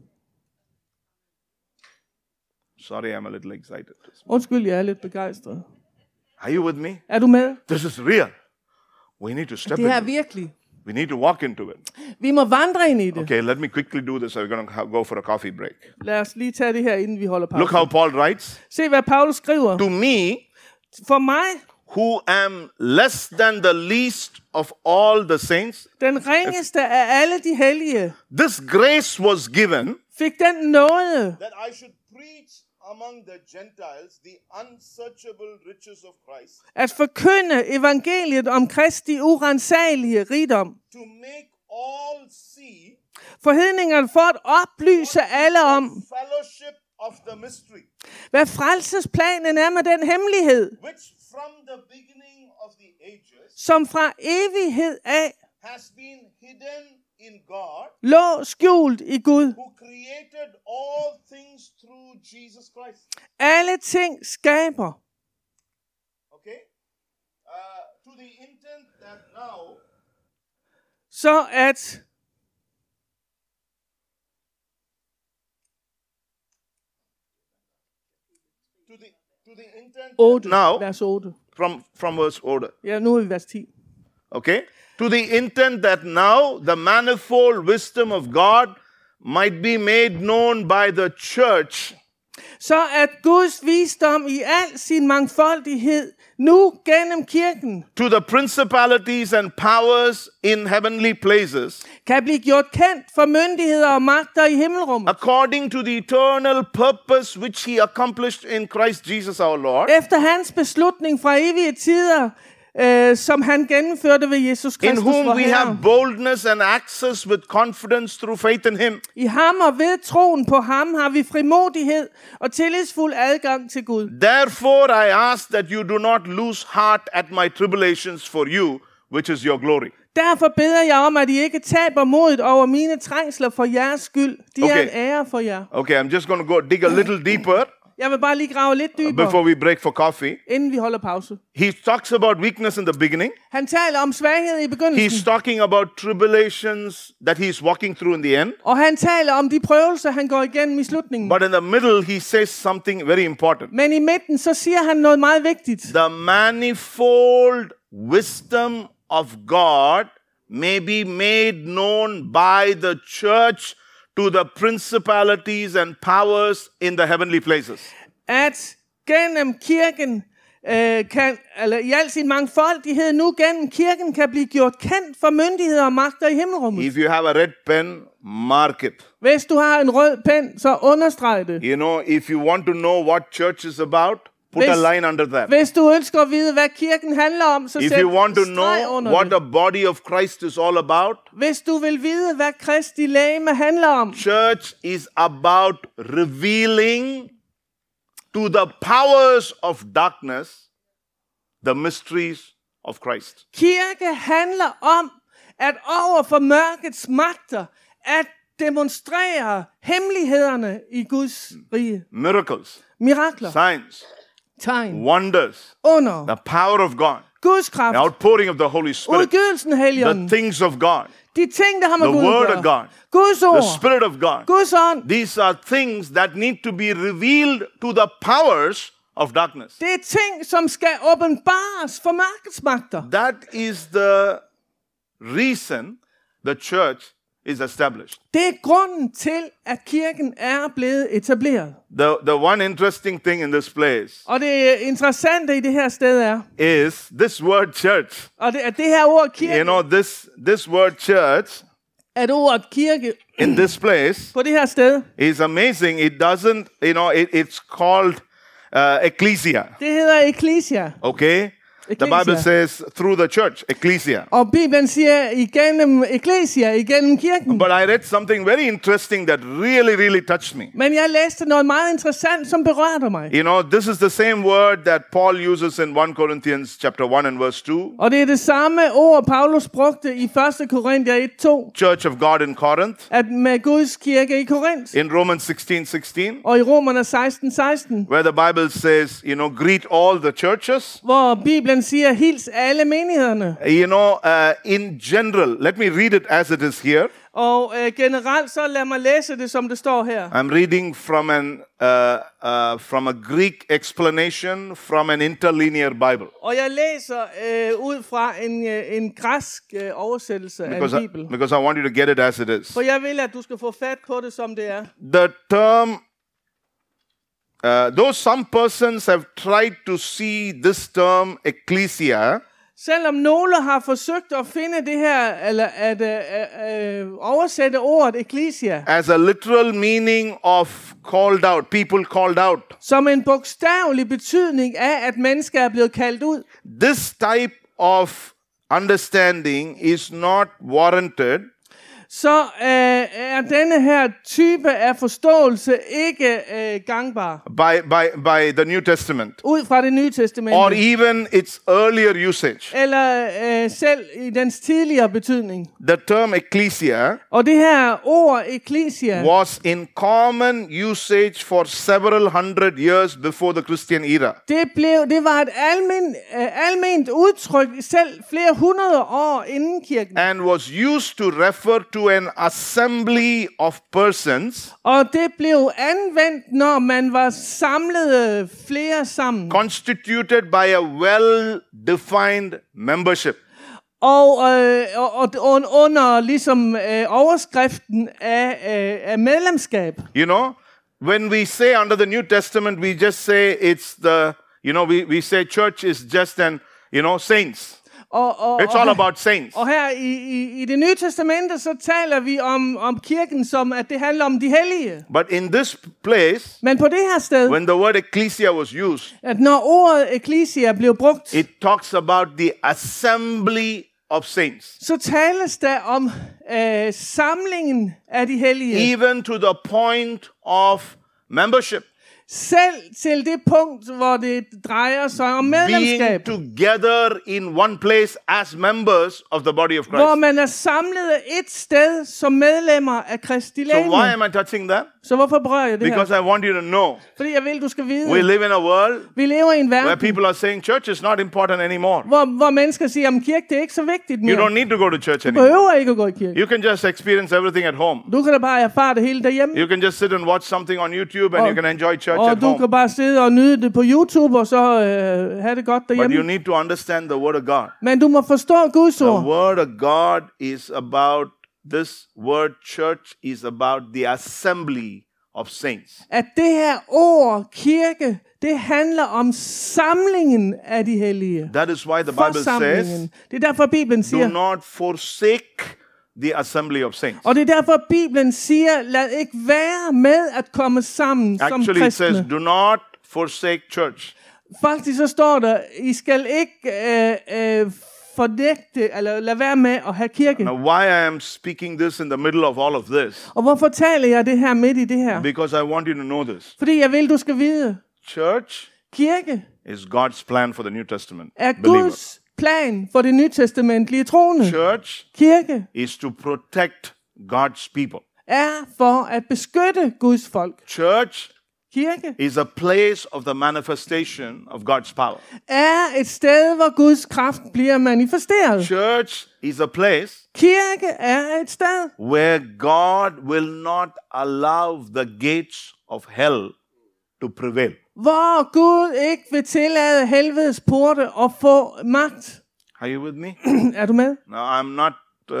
Sorry, I'm a little excited. Undskyld, jeg er lidt begejstret. Are you with me? Er du med? This is real. We need to step Det her er in. virkelig. We need to walk into it. Vi må vandre ind i det. Okay, let me quickly do this. We're going to go for a coffee break. Lad os lige tage det her, inden vi holder Look pause. how Paul writes. Se, hvad Paulus skriver. To me, For mig, who am less than the least of all the saints, den ringeste af alle de hellige, this grace was given fik den nåde, that I should preach among the Gentiles the unsearchable riches of Christ, at forkynde evangeliet om Kristi uransagelige rigdom. to make all see For hedningerne for at oplyse alle om, fellowship of the mystery, hvad frelsesplanen er med den hemmelighed, which from the beginning of som fra evighed af has been hidden in God, lå skjult i Gud. who created all things through Jesus Christ. Alle ting skaber. Okay? To the intent that now Så at to the intent 8, now vers 8. from verse order. Ja, nu er vi vers 10. Okay? To the intent that now the manifold wisdom of God might be made known by the church, Så at Guds visdom i al sin mangfoldighed nu gennem kirken to the principalities and powers in heavenly places, kan blive gjort kendt for myndigheder og magter i himmelrummet. according to the eternal purpose which he accomplished in Christ Jesus our Lord, Efter hans beslutning fra evige tider, som han gennemførte ved Jesus in Kristus, whom vor we Herre. have boldness and access with confidence through faith in him. I ham og ved troen på ham har vi frimodighed og tillidsfuld adgang til Gud. Therefore I ask that you do not lose heart at my tribulations for you, which is your glory. Derfor beder jeg om, at I ikke taber modet over mine trængsler for jeres skyld. De er Okay. en ære for jer. Okay, I'm just going to go dig a little deeper Jeg vil bare lige grave lidt dybere, before we break for coffee. inden vi holder pause. He talks about weakness in the beginning. Han taler om svaghed i begyndelsen, He's talking about tribulations that he's walking through in the end. og han taler om de prøvelser, han går igennem i slutningen. But in the middle, he says something very important. Men i midten, så siger han noget meget vigtigt. The manifold wisdom of God may be made known by the church to the principalities and powers in the heavenly places. At gennem kirken, i al sin mangfoldighed nu gennem kirken, kan blive gjort kendt for myndigheder og magter i himmelrummet. If you have a red pen, mark it. Hvis du har en rød pen, så understreg det. You know, if you want to know what church is about, put a line under that. Hvis du ønsker at vide, hvad kirken handler om, så If sæt you want to streg know under what det. the body of Christ is all about, Hvis du vil vide, hvad Kristi legeme handler om, church is about revealing to the powers of darkness the mysteries of Christ. kirke handler om, at over for mørkets magter, at demonstrere hemmelighederne i Guds rige. Miracles, Mirakler, signs, tegn, wonders, under, the power of God, Guds the kraft, outpouring of the Holy Spirit, udgydelsen af the Helligånden, things of God, de ting, der har med the Gud word at of gøre, God, Guds the ord, Spirit of God. Guds ånd, These are things that need to be revealed to the powers of darkness. det er ting, som skal åbenbares for mørkets magter. That is the reason the church is established. Det er grunden til, at kirken er blevet etableret. The one interesting thing in this place Og det interessante i det her sted er, is this word church. og det her ord kirke, You know, this word church at ordet kirke in this place på det her sted, is amazing. It doesn't, you know, it's called ecclesia. det hedder ecclesia. Okay? The Ecclesia. Bible says through the church, ecclesia. Og Bibelen siger igennem ecclesia, igennem kirken. But I read something very interesting that really touched me. Men jeg læste noget meget interessant, som berørte mig. You know, this is the same word that Paul uses in 1 Corinthians chapter 1 and verse 2. Og det er det samme ord, Paulus brugte i 1. Korinther 1:2, Church of God in Corinth. at med Guds kirke i Korinth. In Romans 16:16, Og i Romerne 16:16, where the Bible says, you know, greet all the churches. hvor Bibelen siger, hils alle menighederne. You know, in general, let me read it as it is here. Og generelt, så lad mig læse det, som det står her. I'm reading from from a Greek explanation from an interlinear Bible. Og jeg læser ud fra en græsk oversættelse af en bibel. Because I want you to get it as it is. For jeg vil, at du skal få fat på det, som det er. The term, though some persons have tried to see this term ecclesia Selvom nogle har forsøgt at finde det her, eller at oversætte ordet ecclesia, as a literal meaning of called out, people called out, som en bogstavelig betydning af, at mennesker er blevet kaldt ud, this type of understanding is not warranted så er denne her type af forståelse ikke gangbar by the New Testament, ud fra det nye testamente, or even its earlier usage. eller selv i dens tidligere betydning. The term ecclesia Og det her ord ecclesia was in common usage for several hundred years before the Christian era. det var et alment udtryk selv flere hundrede år inden kirken. And was used to refer to an assembly of persons Og det blev anvendt, når man var samlet flere sammen. constituted by a well-defined membership. Og under ligesom overskriften af medlemskab. You know, when we say under the New Testament, we just say it's the, we say church is just saints. It's all about saints. Og her i det nye testamente, så taler vi om kirken som, at det handler om de hellige. But in this place, Men på det her sted, when the word ecclesia was used, at når ordet ecclesia blev brugt, it talks about the assembly of saints. så tales der om samlingen af de hellige. Even to the point of membership. Selv til det punkt, hvor det drejer sig om medlemskab. Being together in one place as members of the body of Christ. Hvor man er samlet et sted som medlemmer af Kristi legeme. So why am I touching that? Så hvorfor berører jeg det Because her? I want you to know. Fordi jeg vil, du skal vide. We live in a world Vi lever i en where verden, people are saying church is not important anymore. hvor mennesker siger, at kirke det er ikke så vigtigt You mere. don't need to go to church Du anymore. behøver ikke at gå i kirke. You can just experience everything at home. Du kan da bare erfare det hele derhjemme. You can just sit and watch something on YouTube and you can enjoy church Og at du home. kan bare sidde og nyde det på YouTube, og så have det godt But you derhjemme. need to understand the word of God. Men du må forstå Guds The ord. word of God is about, this word church is about the assembly of saints. At det her ord, kirke, det handler om samlingen af de hellige. That is why the Bible says, Forsamlingen. Det er derfor, Bibelen do siger, not forsake the assembly of saints. og det er derfor, Bibelen siger, lad ikke være med at komme sammen som Actually, it says, kristne. do not forsake church. Faktisk så står der, I skal ikke fornægte, eller lade være med at have kirke. Now, why I am speaking this in the middle of all of this? Og hvorfor taler jeg det her midt i det her? Because I want you to know this. Fordi jeg vil, du skal vide, Church kirke is God's plan for the New Testament er believer. Guds plan for det nytestamentlige troende. Church Kirke is to protect God's people. er for at beskytte Guds folk. Church Kirke is a place of the manifestation of God's power. er et sted, hvor Guds kraft bliver manifesteret. Church is a place Kirke er et sted, where God will not allow the gates of hell to prevail. hvor Gud ikke vil tillade helvedes porte at få magt. Are you with me? Er du med? Now, I'm not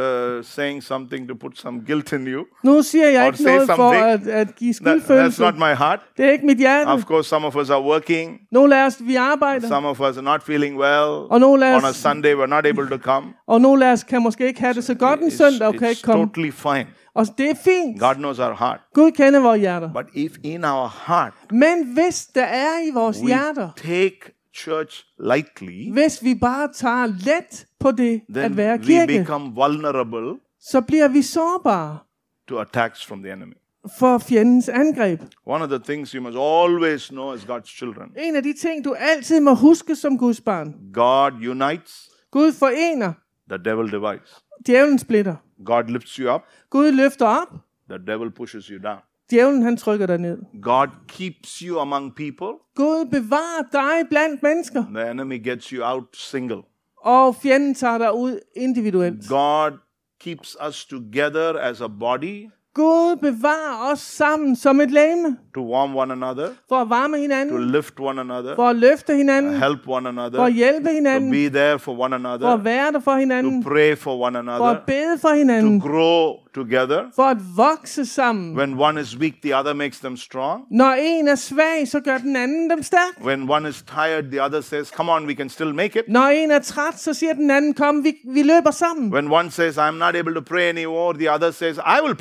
saying something to put some guilt in you. Nu siger jeg Or ikke say noget for something. at give That's skyldfølelse. not my heart. Det er ikke mit hjerte. Of course, some of us are working. Nogle af os, vi arbejder. Some of us are not feeling well. Og nogle af On a os, Sunday, we're not able to come. og nogle af os kan måske ikke have det så godt en søndag, og kan It's ikke komme. totally fine. Og det er fint. God knows our heart. Gud kender vores hjerter. But if in our heart Men hvis der er i vores we hjerter, take church lightly, hvis vi bare tager let på det at then være we kirke, become vulnerable så bliver vi sårbare to attacks from the enemy. for fjendens angreb. One of the things you must always know as God's children, En af de ting, du altid må huske som Guds barn. God unites, Gud forener, the devil divides. djævlen splitter. God lifts you up, Gud løfter op, the devil pushes you down. djævlen han trykker dig ned. God keeps you among people, Gud bevarer dig blandt mennesker, the enemy gets you out single. og fjenden tager dig ud individuelt. God keeps us together as a body Gud bevarer os sammen som et legeme, to warm one another, for at varme to hinanden, lift one another, for at løfte hinanden, help one for another, at hjælpe to hinanden, be there for one for another, at være der for hinanden, to pray for one for at another, bede for to hinanden, grow together. for at vokse sammen. When one is weak, the other makes them strong. Når en er svag, så gør den anden dem stærk. When one is tired, the other says, come on, we can still make it. Når en er træt, så siger den anden, kom, vi løber sammen. When one says, I'm not able to pray anymore, the other says, I will pray for you.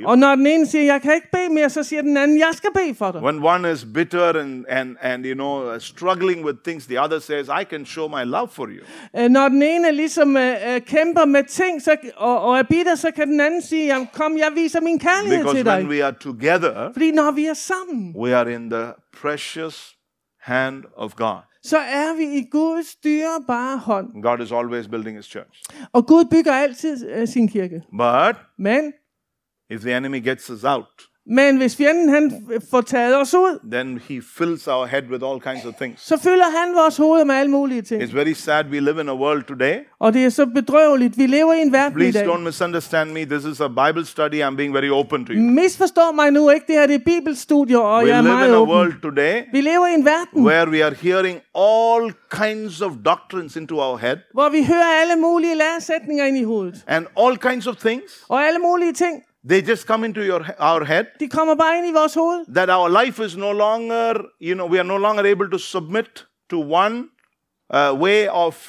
Og når den ene siger, jeg kan ikke bede mere, så siger den anden, jeg skal bede for dig. When one is bitter and struggling with things, the other says, I can show my love for you. Når den ene ligesom kæmper med ting og er bitter, så kan den anden sige, jamen, kom, jeg viser min kærlighed Because til dig. when we are together, Fordi når vi er sammen, we are in the precious hand of God. så er vi i Guds dyrebare hånd. God is always building his church. Og Gud bygger altid sin kirke. But Men if the enemy gets us out, hvis fjenden han får taget os ud, then he fills our head with all kinds of things. så fylder han vores hoved med alle mulige ting. It's very sad we live in a world today. Og det er så bedrøveligt. Vi lever i en verden i Please dag. don't misunderstand me. This is a Bible study. I'm being very open to you. Misforstår mig nu ikke. Det her det er bibelstudier, og We jeg er live in meget a åben. world today Vi lever i en verden, where we are hearing all kinds of doctrines into our head hvor vi hører alle mulige læresætninger ind i hovedet. and all kinds of things. Og alle mulige ting, They just come into our head de kommer bare ind i vores hoved. that our life is no longer, we are no longer able to submit to one way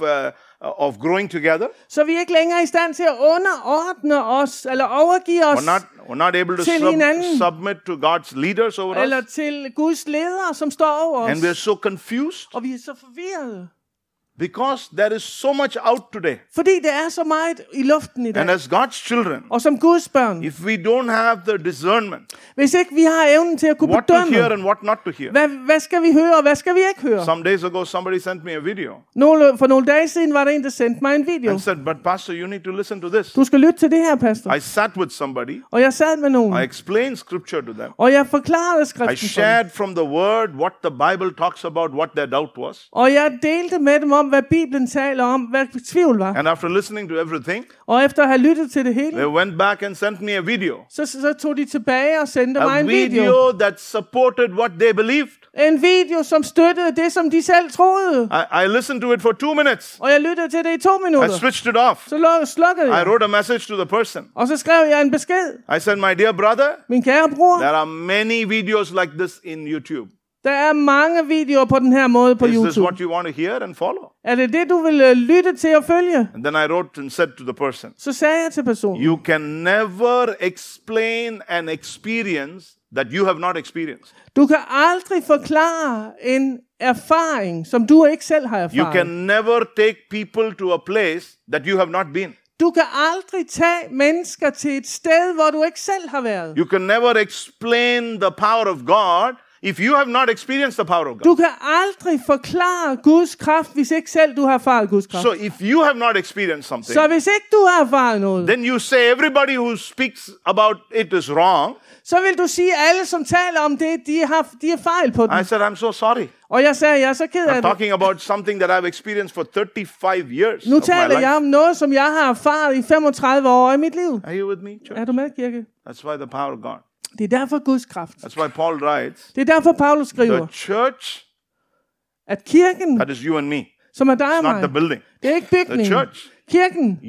of growing together. Så vi er ikke længere i stand til at underordne os, eller overgive os, We're not able to til hinanden. submit to God's leaders over eller us. til Guds ledere, som står over os. And we're so confused Og vi er så forvirrede. because there is so much out today. Fordi det er så meget i luften i dag. And as God's children, Og som Guds børn, if we don't have the discernment, hvis ikke vi har evnen til at kunne what to hear bedømme, and what not to hear. hvad skal vi høre, og hvad skal vi ikke høre? Some days ago, somebody sent me a video For nogle dage siden var der en, der sendte mig en video. and said, but pastor, you need to listen to this. Du skal lytte til det her, pastor. I sat with somebody. Og jeg sad med nogen, I explained scripture to them. og jeg forklarede I skriften for dem. shared from the word what the Bible talks about, what their doubt was. Og jeg delte med dem om, hvad Bibelen taler om, hvad tvivl var. And after listening to everything, Og efter at have lyttet til det hele, they went back and sent me a video. så tog de tilbage og sendte mig A en video. video that supported what they believed. En video, som støttede det, som de selv troede. I listened to it for 2 minutes. Og jeg lyttede til det i 2 I minutter. switched it off. Så slukkede I jeg. wrote a message to the person. Og så skrev jeg en besked. I said, my dear brother, Min kære bror, there are many videos like this in YouTube. der er mange videoer på den her måde på Is this YouTube. what you want to hear and follow? Er det det, du vil lytte til og følge? And then I wrote and said to the person, Så sagde jeg til personen, you can never explain an experience that you have not experienced. du kan aldrig forklare en erfaring, som du ikke selv har You can erfaret. never take people to a place that you have not been. Du kan aldrig tage mennesker til et sted, hvor du ikke selv har været. You can never explain the power of God if you have not experienced the power of God. Du kan aldrig forklare Guds kraft, hvis ikke selv du har erfaret Guds kraft. So if you have not experienced something, Så hvis ikke du har erfaret noget, then you say everybody who speaks about it is wrong. så vil du sige, at alle, som taler om det, de er fejl på den. I said, I'm so sorry. Og jeg sagde, jeg er så ked af I'm det. talking about something that I've experienced for 35 years Nu of my taler jeg life. om noget, som jeg har erfaret i 35 år i mit liv. Are you with me, church? Er du med, kirke? That's why the power of God. Det er derfor Guds kraft. That's why Paul writes, Det er derfor Paulus skriver, the church, at kirken, that is you and me, som er dig og it's not the mig, building. det er ikke The bygningen. church, Kirken,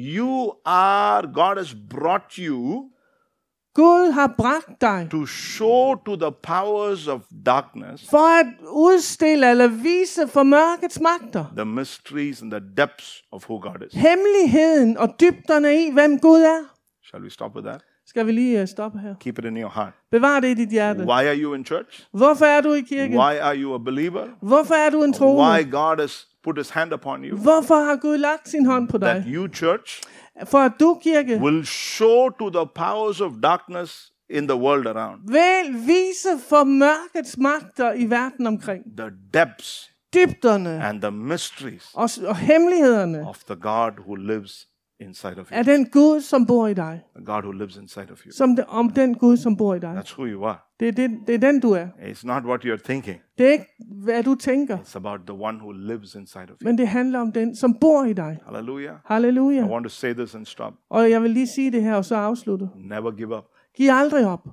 God has brought you Gud har bragt dig to show to the powers of darkness for at udstille eller vise for mørkets magter the mysteries and the depths of who God is. hemmeligheden og dybderne i, hvem Gud er. Shall we stop with that? Skal vi lige stoppe her? Keep it in your heart. Bevar det i dit hjerte. Why are you in church? Hvorfor er du i kirken? Why are you a believer? Hvorfor er du en Why troende? God has put his hand upon you? Hvorfor har Gud lagt sin hånd på That dig? you, church, For at du, kirke, will show to the powers of darkness in the world around vil vise for mørkets magter i verden omkring. the depths Dybderne and the mysteries og hemmelighederne of the God who lives inside of er you. den Gud, som bor i dig. The God who lives inside of you. Om den Gud, som bor i dig. That's who you are. Det er den, du er. It's not what you're thinking. Det er ikke, hvad du tænker, It's about the one who lives inside of you. men det handler om den, som bor i dig. Hallelujah. I Halleluja. want to say this and stop. Og jeg vil lige sige det her, og så afslutte. Never give up. Giv aldrig op.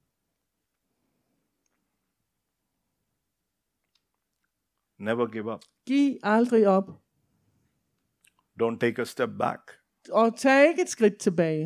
Never give up. Giv aldrig op. Don't take a step back. Og tag ikke et skridt tilbage.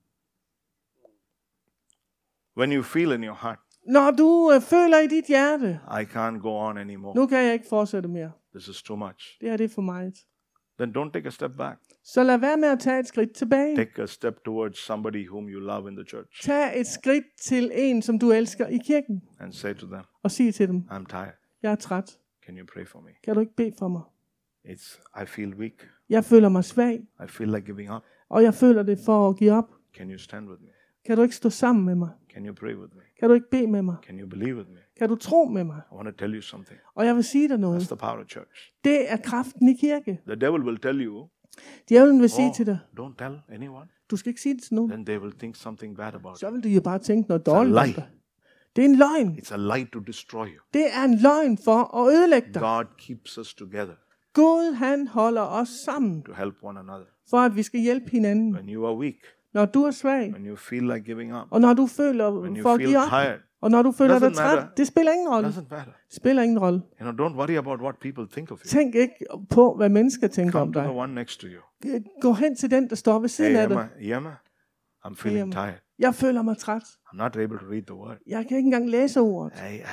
When you feel in your heart, Når du føler i dit hjerte, I can't go on anymore. nu kan jeg ikke fortsætte mere. This is too much. Det her det er for meget. then don't take a step back. så lad være med at tage et skridt tilbage. Take a step towards somebody whom you love in the church Tag et skridt til en, som du elsker i kirken, and say to them, og sig til dem, I'm tired. jeg er træt. Can you pray for me? Kan du ikke bede for mig? I feel weak. Jeg føler mig svag, I feel like giving up. og jeg føler det for at give op. Can you stand with me? Kan du ikke stå sammen med mig? Can you pray with me? Kan du ikke bede med mig? Can you believe with me? Kan du tro med mig? I want to tell you something. Og jeg vil sige dig noget. That's the power of church. Det er kraften i kirke. The devil will tell you, Djævlen vil sige til dig, don't tell anyone. du skal ikke sige det til nogen. Then they will think something bad about Så you. vil de jo bare tænke noget dårligt om lie. dig. Det er en løgn. It's a lie to destroy you. Det er en løgn for at ødelægge dig. God keeps us together Gud, han holder os sammen, to help one another. for at vi skal hjælpe hinanden. When you are weak, Når du er svag, when you feel like giving up, og når du føler when you for at feel give op, tired, og når du føler dig Doesn't træt, matter. det spiller ingen rolle. doesn't matter. Det spiller ingen rolle. Don't worry about what people think of you. Tænk ikke på, hvad mennesker tænker om Come to dig. the one next to you. Gå hen til den, der står ved siden Hey, af dig. Emma, I'm feeling Emma. tired. Jeg føler mig træt. I'm not able to read the word. Jeg kan ikke engang læse ordet.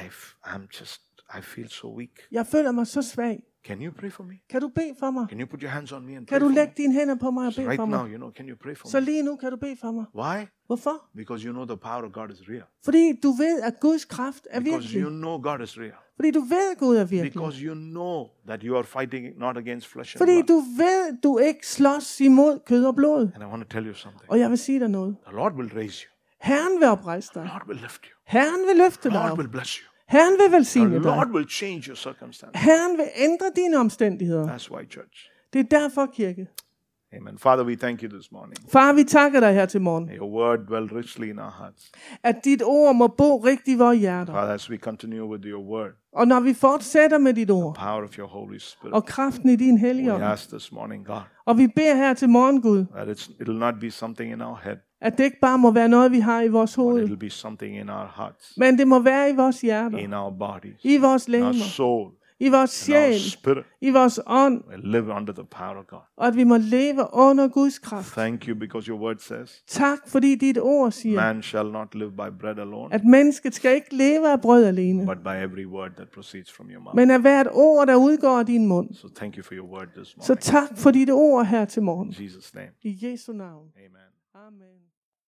I feel so weak. Jeg føler mig så svag. Can you pray for me? Kan du bede for mig? Can you put your hands on me and Kan pray du for lægge me? dine hænder på mig og So bede right for now, mig? can you pray for Så me? lige nu kan du bede for mig. Why? Hvorfor? Because you know the power of God is real. Fordi du ved, at Guds kraft er Because virkelig. you know God is real. Fordi du ved, at Gud er virkelig. Because you know that you are fighting not against flesh and Fordi blood. du ved, du ikke slås imod kød og blod. And I want to tell you something. Og jeg vil sige dig noget. The Lord will raise you. Herren vil oprejse dig. The Lord will lift you. Herren vil løfte The dig Lord op. will bless you. Herren vil The velsigne Lord dig. will change your circumstances. Herren vil ændre dine omstændigheder. That's why, church. Det er derfor, kirke. Amen. Father, we thank you this morning. Far, vi takker dig her til morgen, May your word dwell richly in our hearts. at dit ord må bo rigtigt i vores hjerter. Father, as we continue with your word, Og når vi fortsætter med dit ord, power of your Holy Spirit, og kraften i din hellige we ånd, ask this morning, God, og vi beder her til morgen, Gud, that it'll not be something in our head, at det ikke bare må være noget, vi har i vores but hoved, it'll be something in our hearts, men det må være i vores hjerter, in our bodies, i vores in our lemmer, soul, i vores in our sjæl, spirit. i vores ånd, We live under the power of God. og at vi må leve under Guds kraft. Thank you because your word says, Tak, fordi dit ord siger, man shall not live by bread alone, at mennesket skal ikke leve af brød alene, but by every word that proceeds from your mouth. men af hvert ord, der udgår af din mund. So thank you for your word this Så morning. tak for dit ord her til morgen. In Jesus' name. I Jesu navn. Amen. Amen.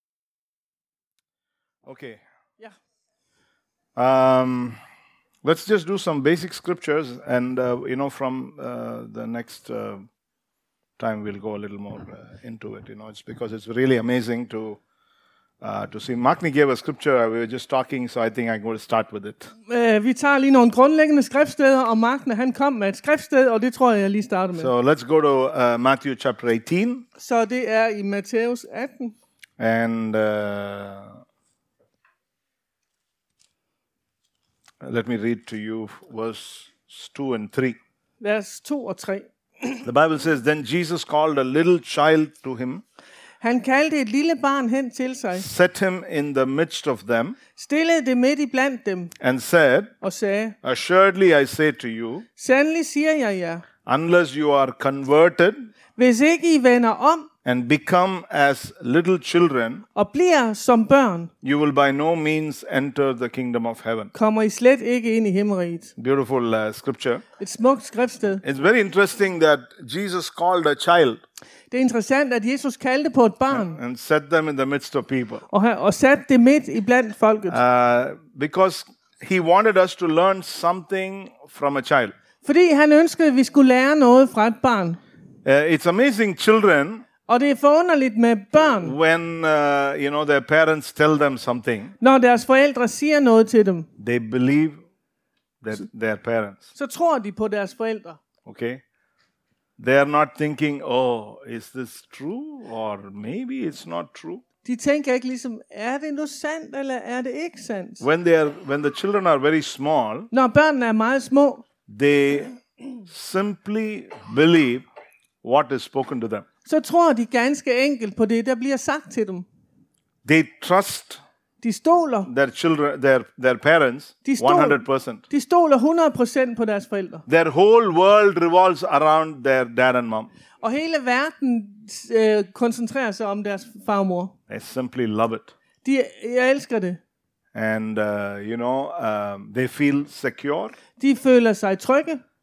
Okay. Ja. Let's just do some basic scriptures, and from the next time we'll go a little more into it. It's because it's really amazing to see. Magni gave a scripture. We were just talking, so I think I'm going to start with it. Vi tager lige nogle grundlæggende skriftsteder, og Magne han kom med et skriftsted, og det tror jeg lige starter med. So let's go to Matthew chapter 18, Så det er i Matthæus 18, and let me read to you verse 2 and 3. vers 2 og 3. The Bible says, then Jesus called a little child to him, Han kaldte et lille barn hen til sig, set him in the midst of them, stillede det midt i blandt dem, and said, og sagde, assuredly I say to you, sandelig siger jeg jer, unless you are converted hvis ikke I vender om and become as little children, og bliver som børn, you will by no means enter the kingdom of heaven. kommer I slet ikke ind i himmeriget. Beautiful scripture. Et smukt skriftsted. It's very interesting that Jesus called a child Det er interessant, at Jesus kaldte på et barn, and set them in the midst of people, og satte det midt i blandt folket. because he wanted us to learn something from a child. Fordi han ønskede, at vi skulle lære noget fra et barn. It's amazing, children, Og det er forunderligt med børn, when their parents tell them something, når deres forældre siger noget til dem, they believe that their parents. så tror de på deres forældre. Okay, they are not thinking, oh, is this true, or maybe it's not true. De tænker ikke ligesom, er det nu sandt, eller er det ikke sandt? When the children are very small, Når børnene er meget små, they simply believe what is spoken to them. så tror de ganske enkelt på det, der bliver sagt til dem. They trust De stoler. their children, their parents, De stoler. 100%. De stoler 100% på deres forældre. Their whole world revolves around their dad and mom. Og hele verden koncentrerer sig om deres far og mor. They simply love it. Jeg elsker det. And, they feel secure. De føler sig trygge.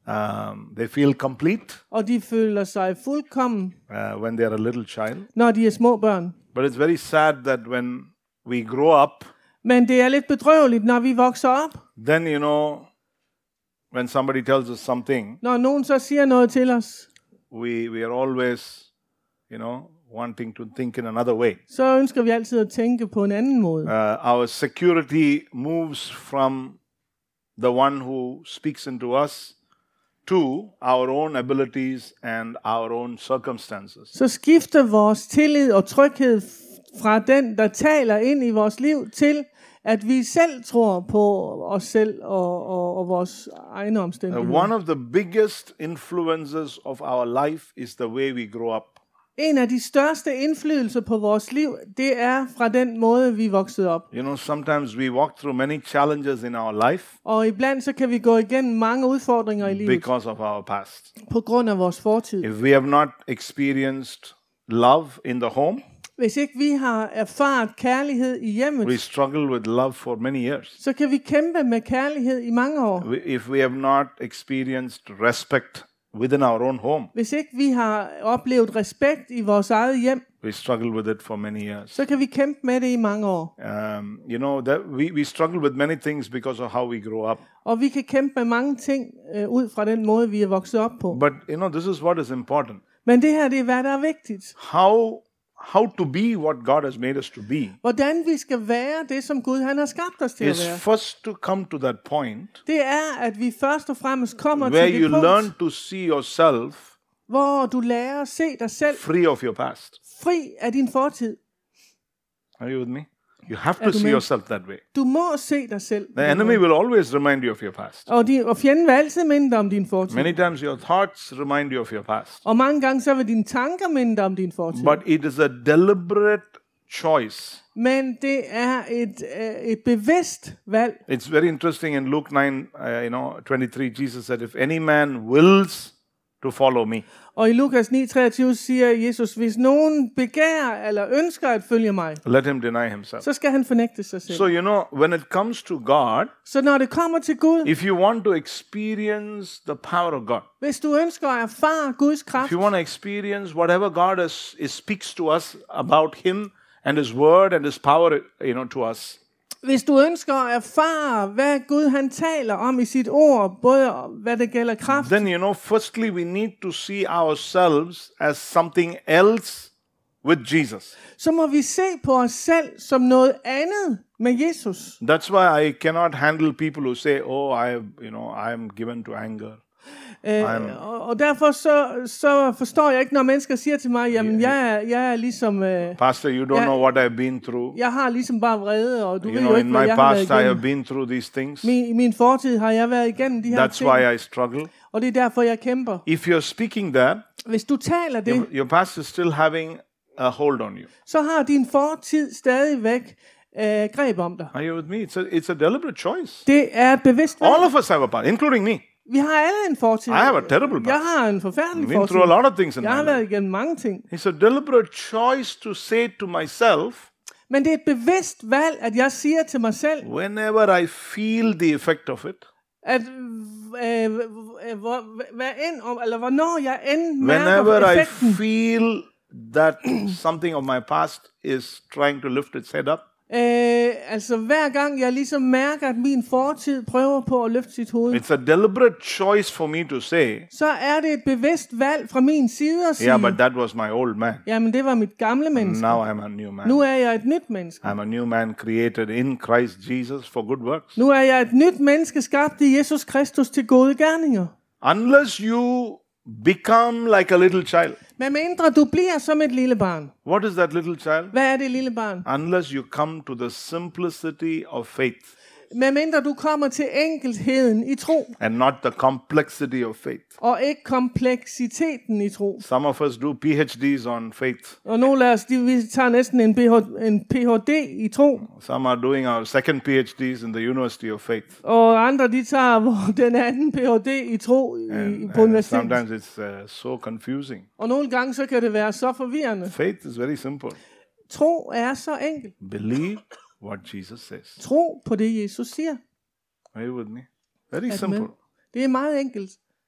They feel complete og de føler sig fuldkommen, when they are a little child. når de er små børn. But it's very sad that when we grow up, Men det er lidt bedrøveligt, når vi vokser op. then when somebody tells us something, Når nogen så siger noget til os, we are always, wanting to think in another way. så ønsker vi altid at tænke på en anden måde. Our security moves from the one who speaks into us to our own abilities and our own circumstances. Så skifter vores tillid og tryghed fra den, der taler ind i vores liv, til at vi selv tror på os selv og vores egne omstændigheder. One of the biggest influences of our life is the way we grow up. En af de største indflydelser på vores liv, det er fra den måde, vi voksede op. Sometimes we walk through many challenges in our life Og iblandt så kan vi gå igennem mange udfordringer i livet because of our past. på grund af vores fortid. If we have not experienced love in the home, Hvis ikke vi har erfaret kærlighed i hjemmet, we struggle with love for many years. så kan vi kæmpe med kærlighed i mange år. If we have not experienced respect within our own home, Hvis ikke vi har oplevet respekt i vores eget hjem, we struggle with it for many years. så kan vi kæmpe med det i mange år. That we struggle with many things because of how we grow up. Og vi kan kæmpe med mange ting ud fra den måde, vi er vokset op på. But this is what is important. Men det her, det er hvad der er vigtigt. How to be what God has made us to be Hvordan vi skal være det, som Gud han har skabt os til at is være. first to come to that point Det er, at vi først og fremmest kommer where til you det learn punkt, to see yourself hvor du lærer at se dig selv free of your past. fri af din fortid. Are you with me? You have Er to du see med? yourself that way. Du må se dig selv. The enemy will always remind you of your past. Og fjenden vil altid minde dig om din fortid. Many times your thoughts remind you of your past. Og mange gange så vil dine tanker minde dig om din fortid. But it is a deliberate choice. Men det er et bevidst valg. It's very interesting in Luke 9, 23, Jesus said, if any man wills to follow me, Og i Lukas 9:23 siger Jesus, hvis nogen begærer eller ønsker at følge mig, let him deny himself. så skal han fornægte sig selv. So, when it comes to God, Så når det kommer til Gud, if you want to experience the power of God, hvis du ønsker at erfare Guds kraft, if you want to experience whatever God speaks to us about him and his word and his power, to us, hvis du ønsker at erfare, hvad Gud han taler om i sit ord, både hvad det gælder kraft, then, firstly, we need to see ourselves as something else with Jesus. så må vi se på os selv som noget andet med Jesus. That's why I cannot handle people who say, I am given to anger. Og derfor så forstår jeg ikke, når mennesker siger til mig, jamen jeg er ligesom, Pastor, you don't know what I've been through. jeg har ligesom bare vrede, og du ved jo In ikke, hvad my jeg har været past, I have igennem. been through these things. I min fortid har jeg været igennem de her That's ting, why I struggle. og det er derfor, jeg kæmper. If you're speaking that, Hvis du taler det, your past is still having a hold on you. så har din fortid stadigvæk greb om dig. Are you with me? It's a deliberate choice. Det er et bevidst valg. All of us have a past, including me. Vi har alle en fortid. I have a terrible past. Jeg har en forfærdelig I've been fortid. through a lot of things in Jeg my har life. været igennem mange ting. It's a deliberate choice to say to myself, Men det er et bevidst valg, at jeg siger til mig selv, whenever I feel the effect of it, at hvornår jeg end mærker whenever I effekten, feel that something of my past is trying to lift its head up, altså hver gang jeg ligesom mærker, at min fortid prøver på at løfte sit hoved, it's a deliberate choice for me to say, så er det et bevidst valg fra min side at sige, yeah, but that was my old man. jamen det var mit gamle menneske. Now I'm a new man. Nu er jeg et nyt menneske. I'm a new man created in Christ Jesus for good works. Nu er jeg et nyt menneske skabt i Jesus Kristus til gode gerninger. Unless you become like a little child. Men mindre du bliver som et lille barn. What is that little child? Hvad er det lille barn? Unless you come to the simplicity of faith Men mindre du kommer til enkelheden i tro, and not the complexity of faith. og ikke kompleksiteten i tro. Some of us do PhDs on faith. Og nogle af os, vi tager næsten en PhD i tro, Some are doing our second PhDs in the University of Faith. og andre de tager den anden PhD i tro på And universitetet. sometimes it's so confusing. Og nogle gange så kan det være så forvirrende. Faith is very simple. Tro er så enkelt. Believe what Jesus says. Tro på det Jesus siger. Are you with me? Very Er du simple. med? Det er meget enkelt.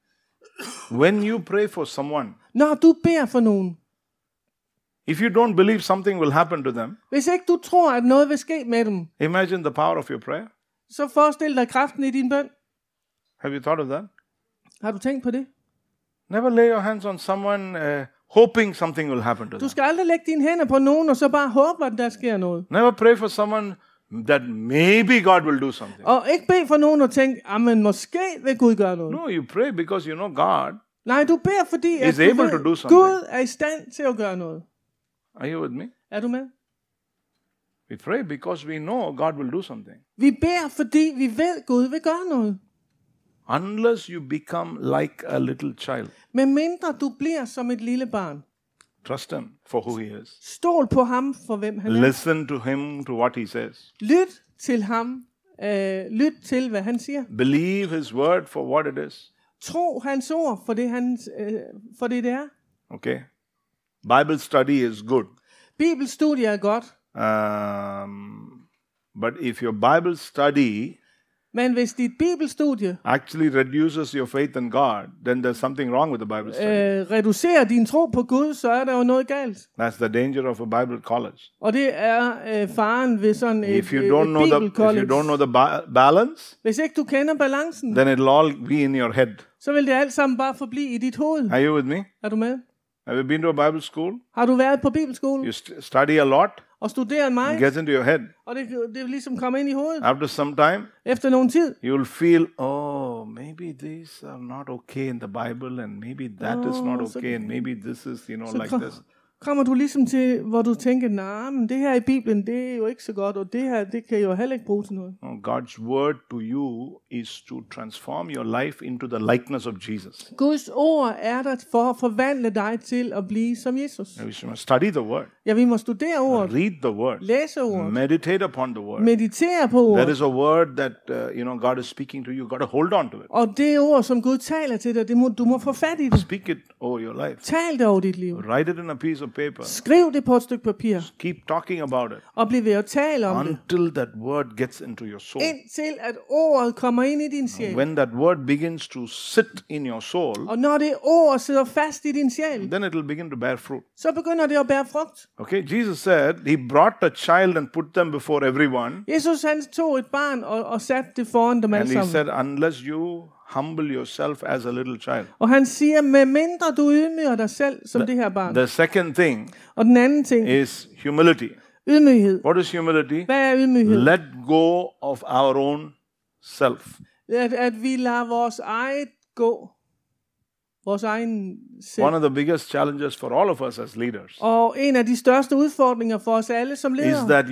When you pray for someone, Når du beder for nogen, if you don't believe something will happen to them, hvis ikke du tror, at noget vil ske med dem, imagine the power of your prayer. så forestil dig kraften i din bøn. Have you thought of that? Har du tænkt på det? Never lay your hands on someone hoping something will happen to Du them. skal aldrig lægge dine hænder på nogen, og så bare håbe, at der sker noget. Never pray for someone that maybe God will do something. Og ikke bede for nogen og tænke, men måske vil Gud gøre noget. No, you pray because you know God. Nej, du beder, fordi at Is du able ved, to do something. Gud er i stand til at gøre noget. Are you with me? Er du med? We pray because we know God will do something. Vi beder, fordi vi ved, at Gud vil gøre noget. Unless you become like a little child. Men mindre du bliver som et lille barn. Trust Him for who He is. Stol på ham for hvem han er. Listen to Him, to what He says. Lyt til ham. Lyt til, hvad han siger. Believe His word for what it is. Tro hans ord for det, det er. Okay? Bible study is good. Bibelstudie er godt. But if your Bible study Men hvis dit bibelstudie actually reduces your faith in God, then there's something wrong with the Bible study. reducerer din tro på Gud, så er der jo noget galt. That's the danger of a Bible college. Og det er faren ved sådan et, If you don't know the balance, Hvis ikke du kender balancen, then it'll all be in your head. så vil det alt sammen bare forblive i dit hoved. Are you with me? Er du med? Have you been to a Bible school? Har du været på bibelskole You study a lot, og studeret it mig, gets into your head. og det er ligesom kommet ind i hovedet. After some time, Efter nogen tid, you will feel, oh, maybe these are not okay in the Bible, and maybe that is not so- okay, and maybe this is, så like this. kommer du ligesom til, hvor du tænker, nej, men det her i Bibelen, det er jo ikke så godt, og det her, det kan jo heller ikke bruge til noget. No, God's word to you is to transform your life into the likeness of Jesus. Guds ord er der for at forvandle dig til at blive som Jesus. We must study the word, Ja, vi må studere ordet, read the word, læse ordet, meditate upon the word. meditere på There ordet. is a word that God is speaking to you. You got to hold on to it. Og det ord, som Gud taler til dig, du må få fat i det. Speak it over your life. Tal det over dit liv. Write it in a piece of paper. Skriv det på et stykke papir, Keep talking about it og bliv ved at tale om det, until that word gets into your soul. indtil at ordet kommer ind i din sjæl. When that word begins to sit in your soul, Og når det ord sidder fast i din sjæl, then it will begin to bear fruit. så begynder det at bære frugt. Okay, Jesus said he brought a child and put them before everyone. Jesus han tog et barn og satte det foran dem And alle he sammen. said, unless you humble yourself as a little child. Og han siger, med mindre du ydmyger dig selv som det her barn. The second thing Og den anden ting, is humility. ydmyghed. What is humility? Hvad er ydmyghed? Let go of our own self. At vi lader vores eget gå. Vores egen selv. One of the biggest challenges for all of us as leaders Og en af de største udfordringer for os alle som is ledere. that,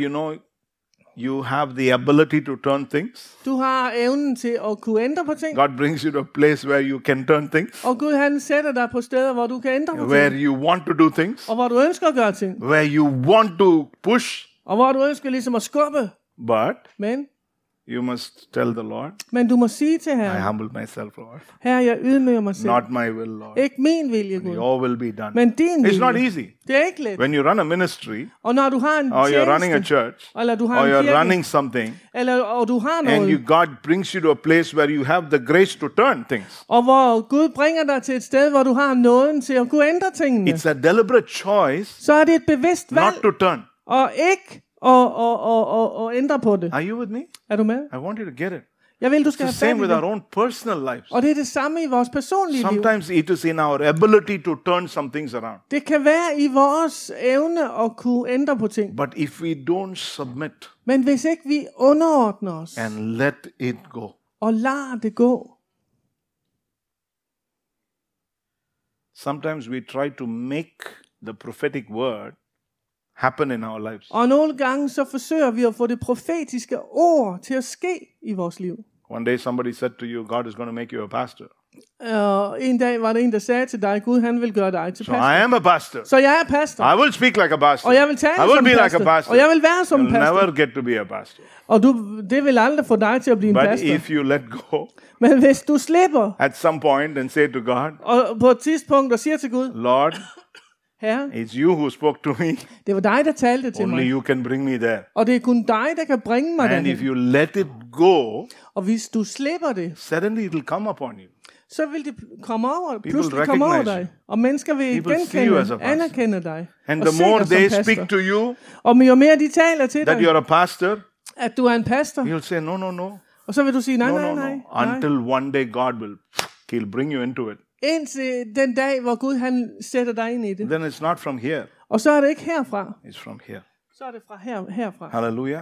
you have the ability to turn things. Du har evnen til at kunne ændre på ting. God brings you to a place where you can turn things, Og Gud han sætter dig på steder, hvor du kan ændre på where ting. you want to do things, Og hvor du ønsker at gøre ting. where you want to push, Og hvor du ønsker ligesom at skubbe. but Men you must tell the Lord, du må sige til I Herren, humble myself, Lord. Herre, jeg ydmyger mig selv. Not my will, Lord. Ikke min vilje, Gud. Your will be done. Men din It's not vilje. easy. Det er ikke let. When you run a ministry, Og når du har en or you're running a tjeneste, church, eller du har or en you're kirke, running something, og du har and noget, God brings you to a place where you have the grace to turn things. og hvor Gud bringer dig til et sted, hvor du har nåden til at kunne ændre tingene, It's a deliberate choice så er det et bevidst valg, not to turn. og ikke at ændre på det. Are you with me? Er du med? I want you to get it. Jeg vil, du It's skal the have fat same i with our det. own personal lives. Og det er det samme i vores personlige liv. Sometimes it is in our ability to turn some things around. Det kan være i vores evne at kunne ændre på ting. But if we don't submit Men hvis ikke vi underordner os and let it go, og lader det gå, sometimes we try to make the prophetic word happen in our lives. og nogle gange så forsøger vi at få det profetiske ord til at ske i vores liv. One day somebody said to you, God is going to make you a pastor. En dag var der en, der sagde til dig, Gud han vil gøre dig til So pastor. I am a pastor. Så jeg er pastor. I will speak like a pastor. Og jeg vil tale I will som be like pastor. a pastor. Og jeg vil være som You'll pastor. never get to be a pastor. Og det vil aldrig få dig til at blive en But pastor. if you let go Men hvis du slipper, at some point and say to God, og på et tidspunkt og siger til Gud, Lord, Herre, it's you who spoke to me. det var dig, der talte til Only mig. you can bring me there. Og det er kun dig, der kan bringe mig And if derhen. you let it go, Og hvis du slipper det, suddenly it will come upon you. så vil det komme over, People pludselig komme over recognize dig. Og mennesker vil People see you as a genkende, pastor. anerkende dig. And og the se more dig som they pastor. speak to you Og jo mere de taler til that dig, you're a pastor, at du er en pastor, you'll say, no. og så vil du sige, nej, No, nej, no, nej, no. nej. Until one day God will, He'll bring you into it. Indtil den dag, hvor Gud han sætter dig ind i det. Then it's not from here, Og så er det ikke herfra, it's from here. så er det fra herfra. Hallelujah.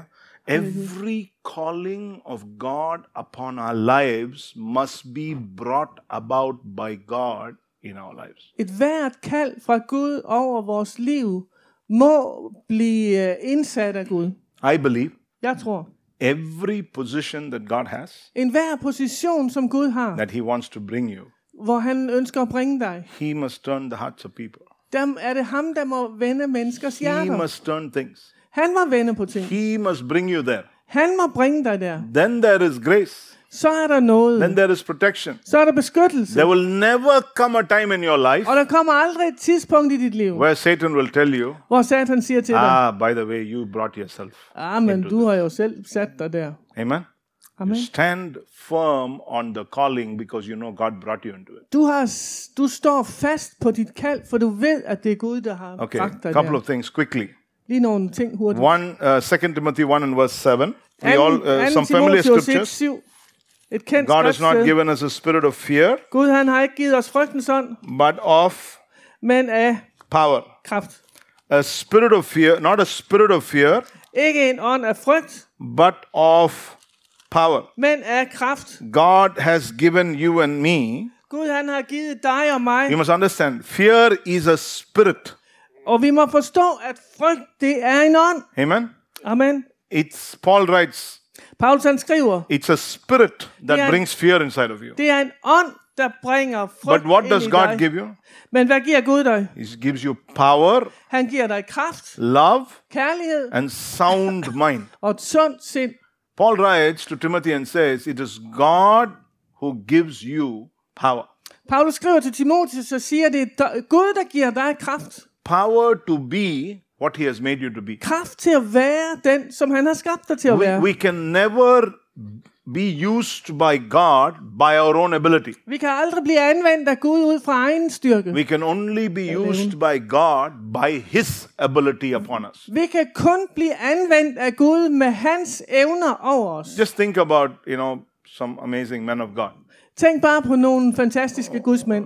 Every calling of God upon our lives must be brought about by God in our lives. Et hvert kald fra Gud over vores liv må blive indsat af Gud. I believe Jeg tror, every position that God has, en hver position, som Gud har, that He wants to bring you, hvor han ønsker at bringe dig, He must turn the hearts of people. der er det ham, der må vende menneskers He hjerter. must turn things. Han må vende på ting. He must bring you there. Han må bringe dig der. Then there is grace. Så er der noget. Then there is protection. Så er der beskyttelse. There will never come a time in your life Og der kommer aldrig et tidspunkt i dit liv, where Satan will tell you, hvor Satan siger til dig, by the way, you brought yourself. men du har jo selv sat dig der. Amen? Amen. You stand firm on the calling because you know God brought you into it. Du står fast på dit kald, for du ved, at det er Gud, der har Okay, bragt dig couple der. of things quickly. Lige nogle ting hurtigt. 2 Timothy 1 and verse 7. We all, some familiar scriptures. 1:7. Et kendt God has not skriftsted. given us a spirit of fear, Gud han har ikke givet os frygtens ånd, but of men af power. kraft. A spirit of fear, not a spirit of fear, Ikke en ånd af frygt, but of power. men af kraft. God has given you and me. Gud han har givet dig og mig, You must understand, fear is a spirit. og vi må forstå, at frygt, det er en ånd. Amen? Amen. It's, Paul writes, Paulus han skriver, it's a spirit that Yeah. brings fear inside of you. det er en ånd, der bringer frygt But what ind does i God dig. give you? Men hvad giver Gud dig? He gives you power, Han giver dig kraft, love, kærlighed and sound mind. og et sundt sind. Paul writes to Timothy and says, it is God who gives you power. Paulus skriver til Timotheus og siger, det er Gud, der giver dig kraft. Power to be what he has made you to be. Kraft til at være den, som han har skabt dig til at være. We can never be used by God by our own ability. Vi kan aldrig blive anvendt af Gud ud fra egen styrke. We can only be used by God by his ability upon us. Vi kan kun blive anvendt af Gud med hans evner over os. Just think about, some amazing men of God. Tænk bare på nogle fantastiske gudsmænd.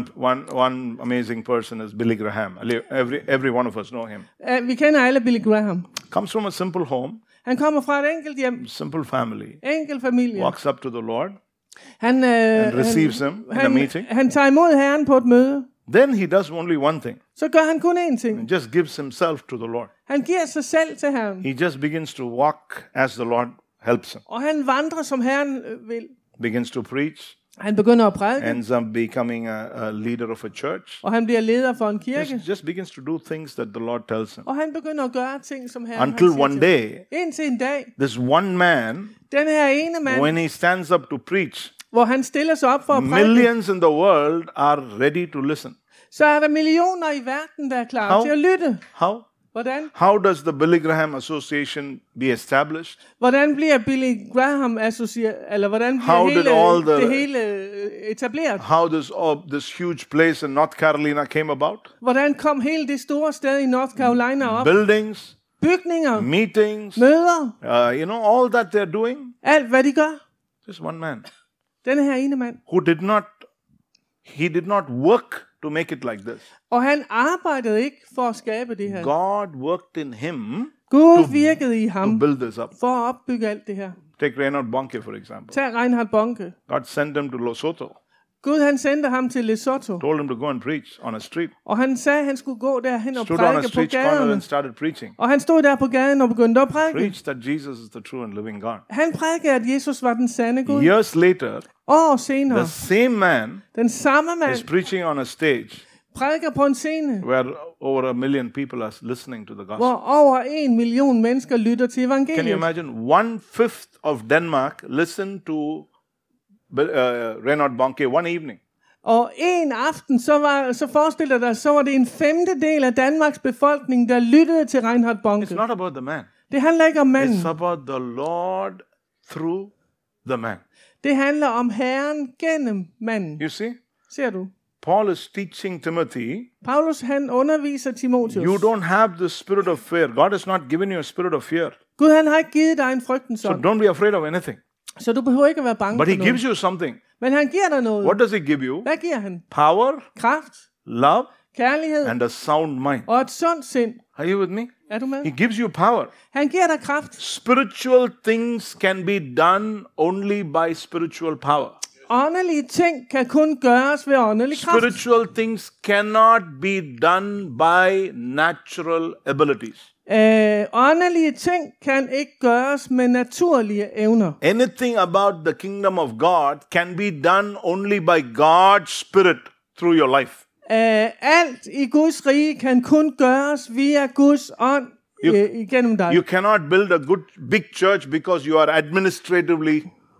One amazing person is Billy Graham. Every one of us know him. Vi kender alle Billy Graham. Comes from a simple home, Han kommer fra et enkelt hjem, simple family. enkel familie. Walks up to the Lord Han, and receives him in a meeting. han tager imod Herren på et møde. Then he does only one thing. Så gør han kun én ting. He just gives himself to the Lord. Han giver sig selv til Herren. He just begins to walk as the Lord helps him. Og han vandrer, som Herren vil. Begins to preach. Han begynder at prædike. Ends up becoming a leader of a church. Og han bliver leder for en kirke. Just begins to do things that the Lord tells him. Og han begynder at gøre ting, som Herren Until han siger one til day, ham. Indtil en dag, this one man, den her ene mand, when he stands up to preach, hvor han stiller sig op for at prædike, millions in the world are ready to listen. så er der millioner i verden, der er klar How? til at lytte. How? Hvordan? How does the Billy Graham Association be established? Hvordan bliver Billy Graham eller hvordan How did all bliver the- det hele etableret? How this huge place in North Carolina came about? Hvordan kom hele det store sted i North Carolina op? Buildings, Bygninger, meetings, møder, all that they're doing. alt hvad de gør. Just one man Denne her ene mand. who did not work to make it like this. Og han arbejdede ikke for at skabe det her. God worked in him Gud virkede i to ham build this up. for at opbygge alt det her. Take Reinhard Bonnke, for example. Tag Reinhard Bonnke. God sent him to Lesotho, Gud han sendte ham til Lesotho. told him to go and preach on a street. Og han sagde, at han skulle gå derhen og Stood on a prædike på street corner gaderne. and started preaching. Og han stod der på gaden og begyndte at prædike. Preached that Jesus is the true and living God. Han prædikede, at Jesus var den sande Gud. Years later, År senere, the same man den samme is mand preaching on a stage prædiker på en scene, where over 1 million people are listening to the gospel. hvor over 1 million mennesker lytter til Can you evangeliet. imagine? 1/5 of Denmark listened to Reinhard Bonnke one evening. Og en aften, så forestiller dig, så var det en femtedel af Danmarks befolkning, der lyttede til Reinhard It's Bonnke. not about the man. Det handler ikke om manden. It's about the Lord through the man. Det handler om Herren gennem manden. You see? Ser du? Paul is teaching Timothy, Paulus han underviser Timotheus. you don't have the spirit of fear. God has not given you a spirit of fear. Gud han har ikke givet dig en frygtens So ånd. don't be afraid of anything. Så du behøver ikke at være bange But for he gives noget. you something. Men han giver dig noget. What does he give you? Hvad giver han? Power, Kraft, love, kærlighed and a sound mind. og et sundt sind. Are you with me? Er du med? He gives you power. Han giver dig kraft. Spiritual things can be done only by spiritual power. Åndelige ting kan kun gøres ved åndelig kraft. Spiritual things cannot be done by natural abilities. Åndelige ting kan ikke gøres med naturlige evner. Anything about the kingdom of God can be done only by God's Spirit through your life. Alt i Guds rige kan kun gøres via Guds ånd igennem dig. You cannot build a good big church because you are administratively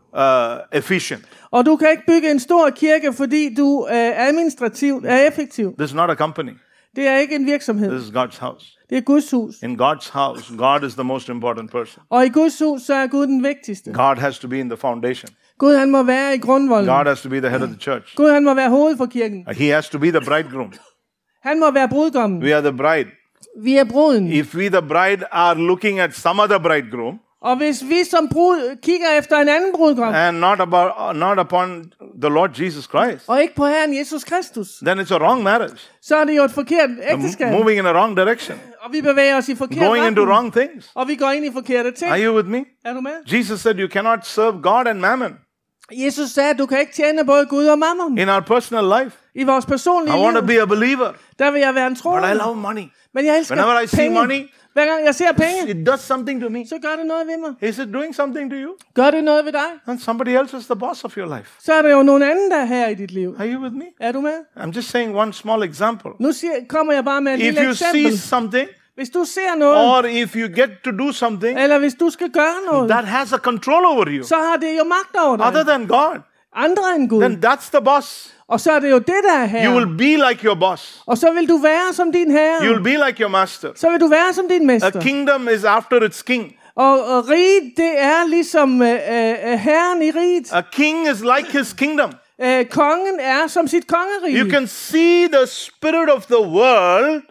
efficient. Og du kan ikke bygge en stor kirke, fordi du administrativt er effektiv. This is not a company. Det er ikke en virksomhed. This is God's house. Det er Guds hus. In God's house, God is the most important person. Og i Guds hus, så er Gud den vigtigste. God has to be in the foundation. Gud han må være i grundvolden. God has to be the head of the church. Gud han må være hoved for kirken. He has to be the bridegroom. Han må være brudgommen. We are the bride. Vi er bruden. If we, the bride, are looking at some other bridegroom Og hvis vi som brud kigger efter en anden brudgom, and not upon the Lord Jesus Christ, og ikke på Herren Jesus Kristus, then it's a wrong marriage. så er det jo et forkert ægteskab. Moving in a wrong direction. Og vi bevæger os i forkert Going into retning. wrong things. Og vi går ind i forkerte ting. Are you with me? Er du med? Jesus said you cannot serve God and mammon Jesus sagde, at du kan ikke tjene både Gud og mammon. in our personal life. I vores personlige I want to liv, be a believer, der vil jeg være en but I troende. love money. Men jeg elsker Whenever I see penge. money, Hver gang jeg ser penge, it does something to me. så gør det noget ved mig. Is it doing something to you? Gør det noget ved dig? And somebody else is the boss of your life. Så er der jo nogen anden, der er her i dit liv. Are you with me? Er du med? I'm just saying one small example. Nu kommer jeg bare med et If lille you see eksempel. something, Hvis du ser noget, or if you get to do something eller hvis du skal gøre noget, that has a control over you, så har det jo magt over other dig. than God, Andre end Gud. then that's the boss. Og så er det jo det, der er her. You will be like your boss. Og så vil du være som din herre. You will be like your master. Så vil du være som din A mester. kingdom is after its king. Og riget, det er ligesom herren i riget. A king is like his kingdom. Kongen er som sit kongerige. You can see the spirit of the world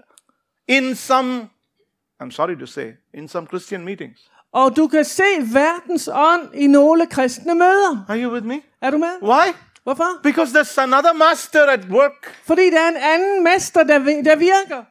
in some, I'm sorry to say, in some Christian meetings. Og du kan se verdens ånd i nogle kristne møder. Are you with me? Er du med? Why? Hvorfor? Because there's another master at work. Fordi der er en anden mester, der virker.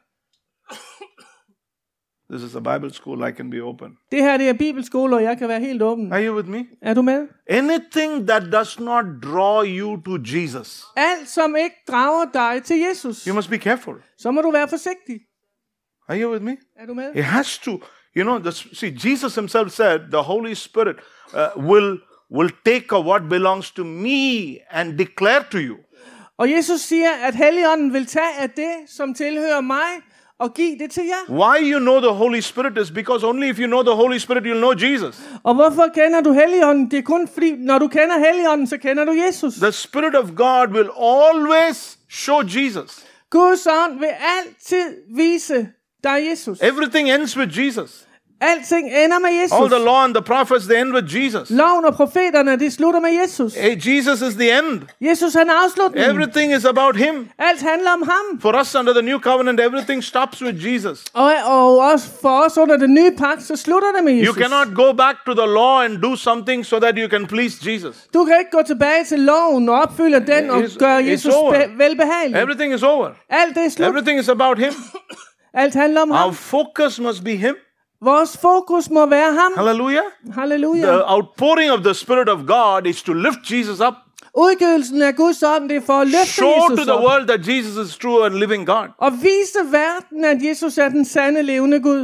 This is a Bible school, I can be open. Det her, det er bibelskole, og jeg kan være helt åben. Are you with me? Er du med? Anything that does not draw you to Jesus, Alt, som ikke drager dig til Jesus, you must be careful. så må du være forsigtig. Are you with me? Er du med? It has to, you know, see, Jesus himself said the Holy Spirit will take of what belongs to me and declare to you. Og Jesus siger, at Helligånden vil tage af det, som tilhører mig, og give det til jer. Why you know the Holy Spirit is because only if you know the Holy Spirit, you'll know Jesus. Og hvorfor kender du Helligånden? Det er kun fordi, når du kender Helligånden, så kender du Jesus. The Spirit of God will always show Jesus. Guds ånd vil altid vise dig Jesus. Everything ends with Jesus. Alting ender med Jesus. All the law and the prophets, they end with Jesus. Loven og profeterne, de slutter med Jesus. Hey, Jesus is the end. Jesus han er afslutningen. Everything is about him. Alt handler om ham. For us under the new covenant, everything stops with Jesus. Og også for os under den nye pagt, så slutter det med Jesus. You cannot go back to the law and do something so that you can please Jesus. Du kan ikke gå tilbage til loven og opfylde den og gøre Jesus velbehagelig. Everything is over. Alt det er slut. Everything is about him. Alt handler om Our ham. focus must be him. Vores fokus må være ham. Hallelujah. Halleluja. The outpouring of the Spirit of God is to lift Jesus up. Udgivelsen af Guds ånd, det er for at løfte Show to Jesus the op. world that Jesus is true and living God. Og vise verden, at Jesus er den sande levende Gud.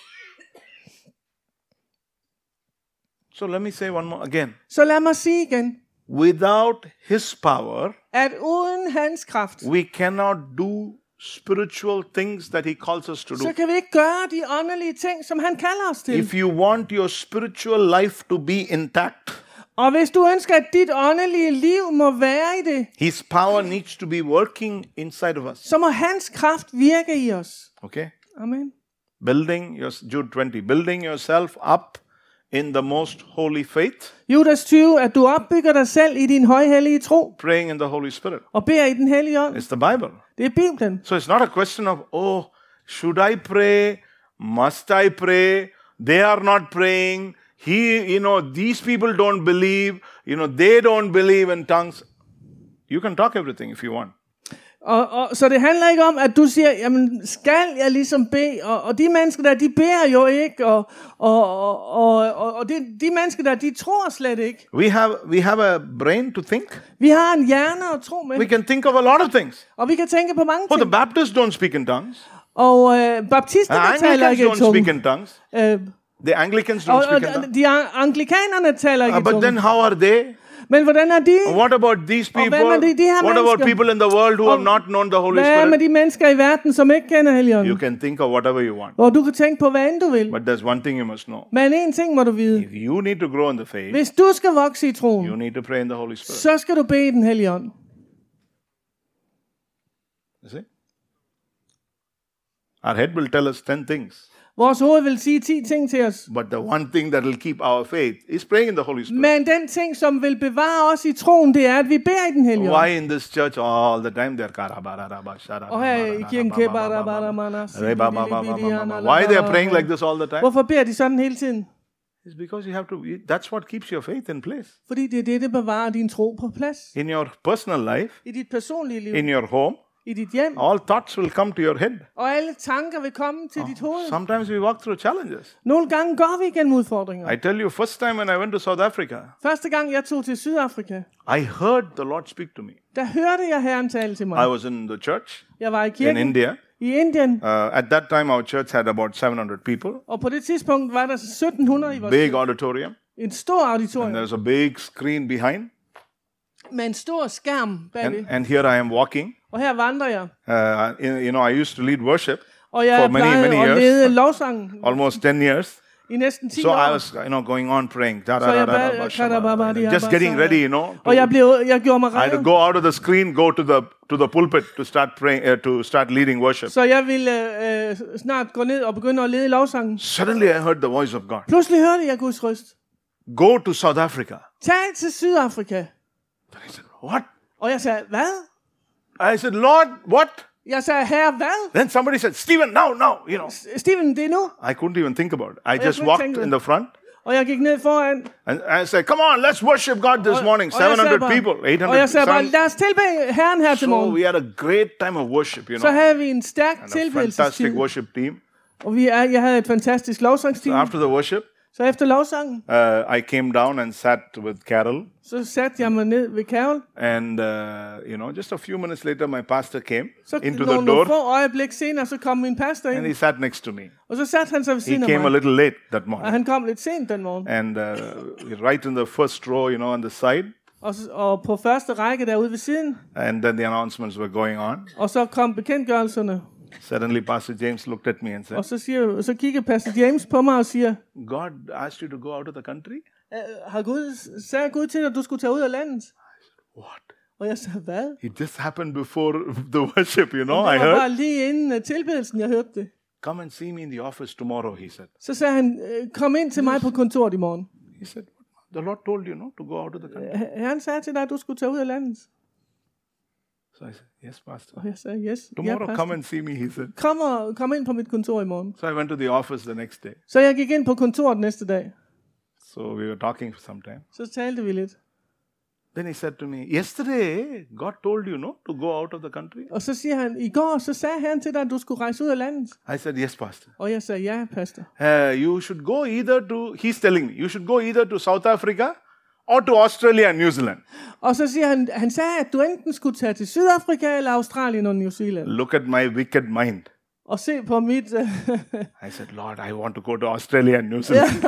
So let me say one more again. Så lad mig sige igen, Without his power, at uden hans kraft, we cannot do spiritual things that he calls us to do. så kan vi ikke gøre de åndelige ting, som han kalder os til. If you want your spiritual life to be intact, Og hvis du ønsker, at dit åndelige liv må være i det, his power needs to be working inside of us. så må hans kraft virke i os. Okay? Amen. Building your Jude 20, building yourself up in the most holy faith, Judas 20, at du opbygger dig selv i din højhellige tro, praying in the Holy Spirit. og beder i den hellige ånd. It's the Bible. Det er Bibelen. So it's not a question of, oh, should I pray? Must I pray? They are not praying. These people don't believe. They don't believe in tongues. You can talk everything if you want. Så det handler ikke om, at du siger, jamen skal jeg ligesom bede, og de mennesker der, de beder jo ikke, og de mennesker der, de tror slet ikke. We have a brain to think. Vi har en hjerne at tro med, We can think of a lot of things. og vi kan tænke på mange Oh, the ting. Baptists don't speak in tongues. Og baptisterne taler Anglicans ikke i don't speak tunge. in tongues. Øh, The Anglicans don't og speak in tongues. de anglikanerne taler ikke i But then tunge. how are they? Men hvordan er de? What about these Og people? hvad med de her What about mennesker? people in the world who have not known the Holy Hvad med Spirit? de mennesker i verden, som ikke kender You Helligånden? can think of whatever you want. Og du kan tænke på, hvad end du vil. But there's one thing you must know. Men en ting må du vide. If you need to grow in the faith, Hvis du skal vokse i you troen, need to pray in the Holy Spirit. så skal du bede i den hellige ånd. You see? Our head will tell us 10 things. Vores hoved vil sige 10 ting til os. But the one thing that will keep our faith is praying in the Holy Spirit. Men den ting, som vil bevare os i troen, det er, at vi beder i den hellige ånd. Why in this church all the time they're Og her i kirken, why they are praying like this all the time? hvorfor beder de sådan hele tiden? It's because you have to. That's what keeps your faith in place. Fordi det er det, der bevarer din tro på plads. In your personal life, I dit personlige liv, in your home, i dit hjem, all thoughts will come to your head. og alle tanker vil komme til dit hoved. Sometimes we walk through challenges. Nogle gange går vi igennem udfordringer. I tell you, first time when I went to South Africa, Første gang jeg tog til Sydafrika, I heard the Lord speak to me. der hørte jeg Herren tale til I mig. was in the church Jeg var i in kirken India. i Indien, At that time, our church had about 700 people, og på det tidspunkt var der 1700 i vores big auditorium, en stor and auditorium there's a big screen behind. med en stor skærm bagved. And here I am walking. Og her vandrer jeg. I used to lead worship Og jeg for many plejede at years, lede lovsangen almost 10 years. i næsten 10 So I år. was, going on praying, jeg just getting ready, Og jeg gjorde mig I had to redo. go out of the screen, go to the pulpit to start praying, to start leading worship. Så jeg ville snart gå ned og begynde at lede lovsangen. Suddenly, I heard the voice of God. Pludselig hørte jeg Guds røst. Go to South Africa. Tag til Sydafrika. I said, what? Og jeg sagde, hvad? I said, Lord, what? Jeg sagde, herre, hvad? Then somebody said, Stephen, now. Steven, det er nu. I couldn't even think about it. I jeg just kunne ikke walked tænke in det. the front. Og jeg gik ned foran. And I said, come on, let's worship God this morning. Og jeg sagde 700 bare- people, 800 Og jeg sagde bare, people. lad os tilbede Herren her til So morgen. we had a great time of worship, Så havde vi en stærk and a fantastic tilbedelsestid. worship team. Og jeg havde et fantastisk lovsangsteam. After the worship, Så efter lovsangen, I came down and sat with Carol. så satte jeg mig ned ved Carol. And, just a few minutes later, my pastor came Så into the nogle door, få øjeblik senere, så kom min pastor and he ind. sat next to me. Og så satte han sig ved He siden af came a mig. little late that Og morning. han kom lidt sent den morgen. And right in the first row, on the side, Og på første række derude ved siden. and then the announcements were going on. Og så kom bekendtgørelserne. Suddenly, Pastor James looked at me and said, Og så kigger pastor James på mig og siger, God asked you to go out of the country? sagde Gud til dig, at du skulle tage ud af landet? What? Og jeg sagde, hvad? It just happened before the worship, Det I var heard. bare lige inden tilbedelsen, jeg hørte det. Come and see me in the office tomorrow, he said. Så sagde han, kom ind til mig på kontoret i morgen. He said, the Lord told you, to go out of the country. Herren sagde til dig, at du skulle tage ud af landet. So I said, yes, Pastor. Og jeg sagde, yes. Tomorrow, pastor. come and see me, he said. Kom ind på mit kontor i morgen. So I went to the office the next day. Så jeg gik ind på kontoret næste dag. So we were talking for some time. Så talte vi lidt. Then he said to me, yesterday, God told you, to go out of the country. Og så siger han, i går, så sagde han til dig, at du skulle rejse ud af landet. I said, yes, Pastor. Og jeg sagde, ja, pastor. You should go he's telling me, you should go either to South Africa or to Australia and New Zealand. Og så siger han sagde, at du enten skulle tage til Sydafrika eller Australien og New Zealand. Look at my wicked mind. Og se på mit... I said, Lord, I want to go to Australia and New Zealand.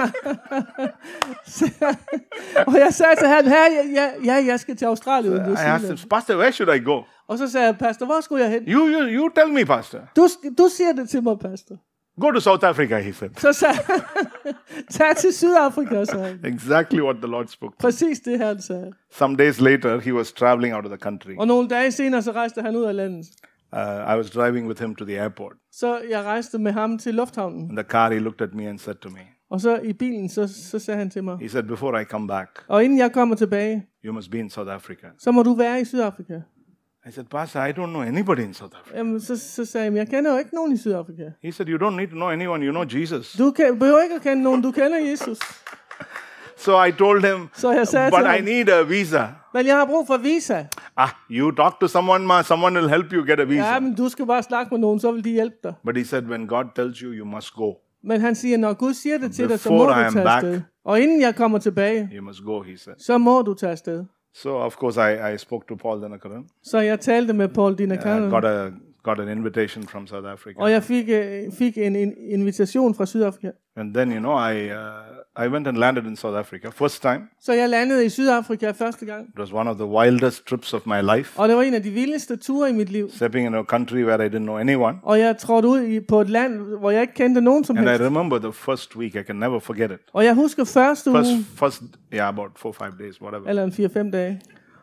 og jeg sagde til ham, jeg skal til Australien og New I asked Zealand. him, Pastor, where should I go? Og så sagde jeg, pastor, hvor skulle jeg hen? You tell me, Pastor. Du siger det til mig, pastor. Go to South Africa, he said. Så sagde tag til Sydafrika, sagde han. Exactly what the Lord spoke. Præcis det, han sagde. Some days later, he was traveling out of the country. Og nogle dage senere, så rejste han ud af landet. I was driving with him to the airport. Så jeg rejste med ham til lufthavnen. In the car, he looked at me and said to me, Og så i bilen, så sagde han til mig, He said, before I come back, og inden jeg kommer tilbage, you must be in South Africa. så må du være i Sydafrika. I said, Pastor, I don't know anybody in South Africa. Jamen, så sagde jeg, jeg kender jo ikke nogen i Sydafrika. He said, you don't need to know anyone, you know Jesus. Du behøver ikke at kende nogen, du kender Jesus. So I told him, Så jeg sagde but til I ham, need a visa. men jeg har brug for visa. You talk to someone, someone will help you get a visa. Ja, men du skal bare snakke med nogen, så vil de hjælpe dig. But he said, when God tells you, you must go. Men han siger, når Gud siger det til dig, så må Before I du am tage back. afsted. Og inden jeg kommer tilbage, You must go, he said. så må du tage afsted. So, of course, I spoke to Paul Dhanakaran. Så jeg talte med Paul I Dinakaran, got an invitation from South Africa. og jeg fik en invitation fra Sydafrika. And then, I went and landed in South Africa. First time. Så jeg landede i Sydafrika første gang. It was one of the wildest trips of my life. Og det var en af de vildeste ture i mit liv. Stepping in a country where I didn't know anyone. Og jeg trådte ud på et land, hvor jeg ikke kendte nogen som And I helst. remember the first week. I can never forget it. Og jeg husker første uge, About 4-5 days, whatever. eller en 4-5 dage.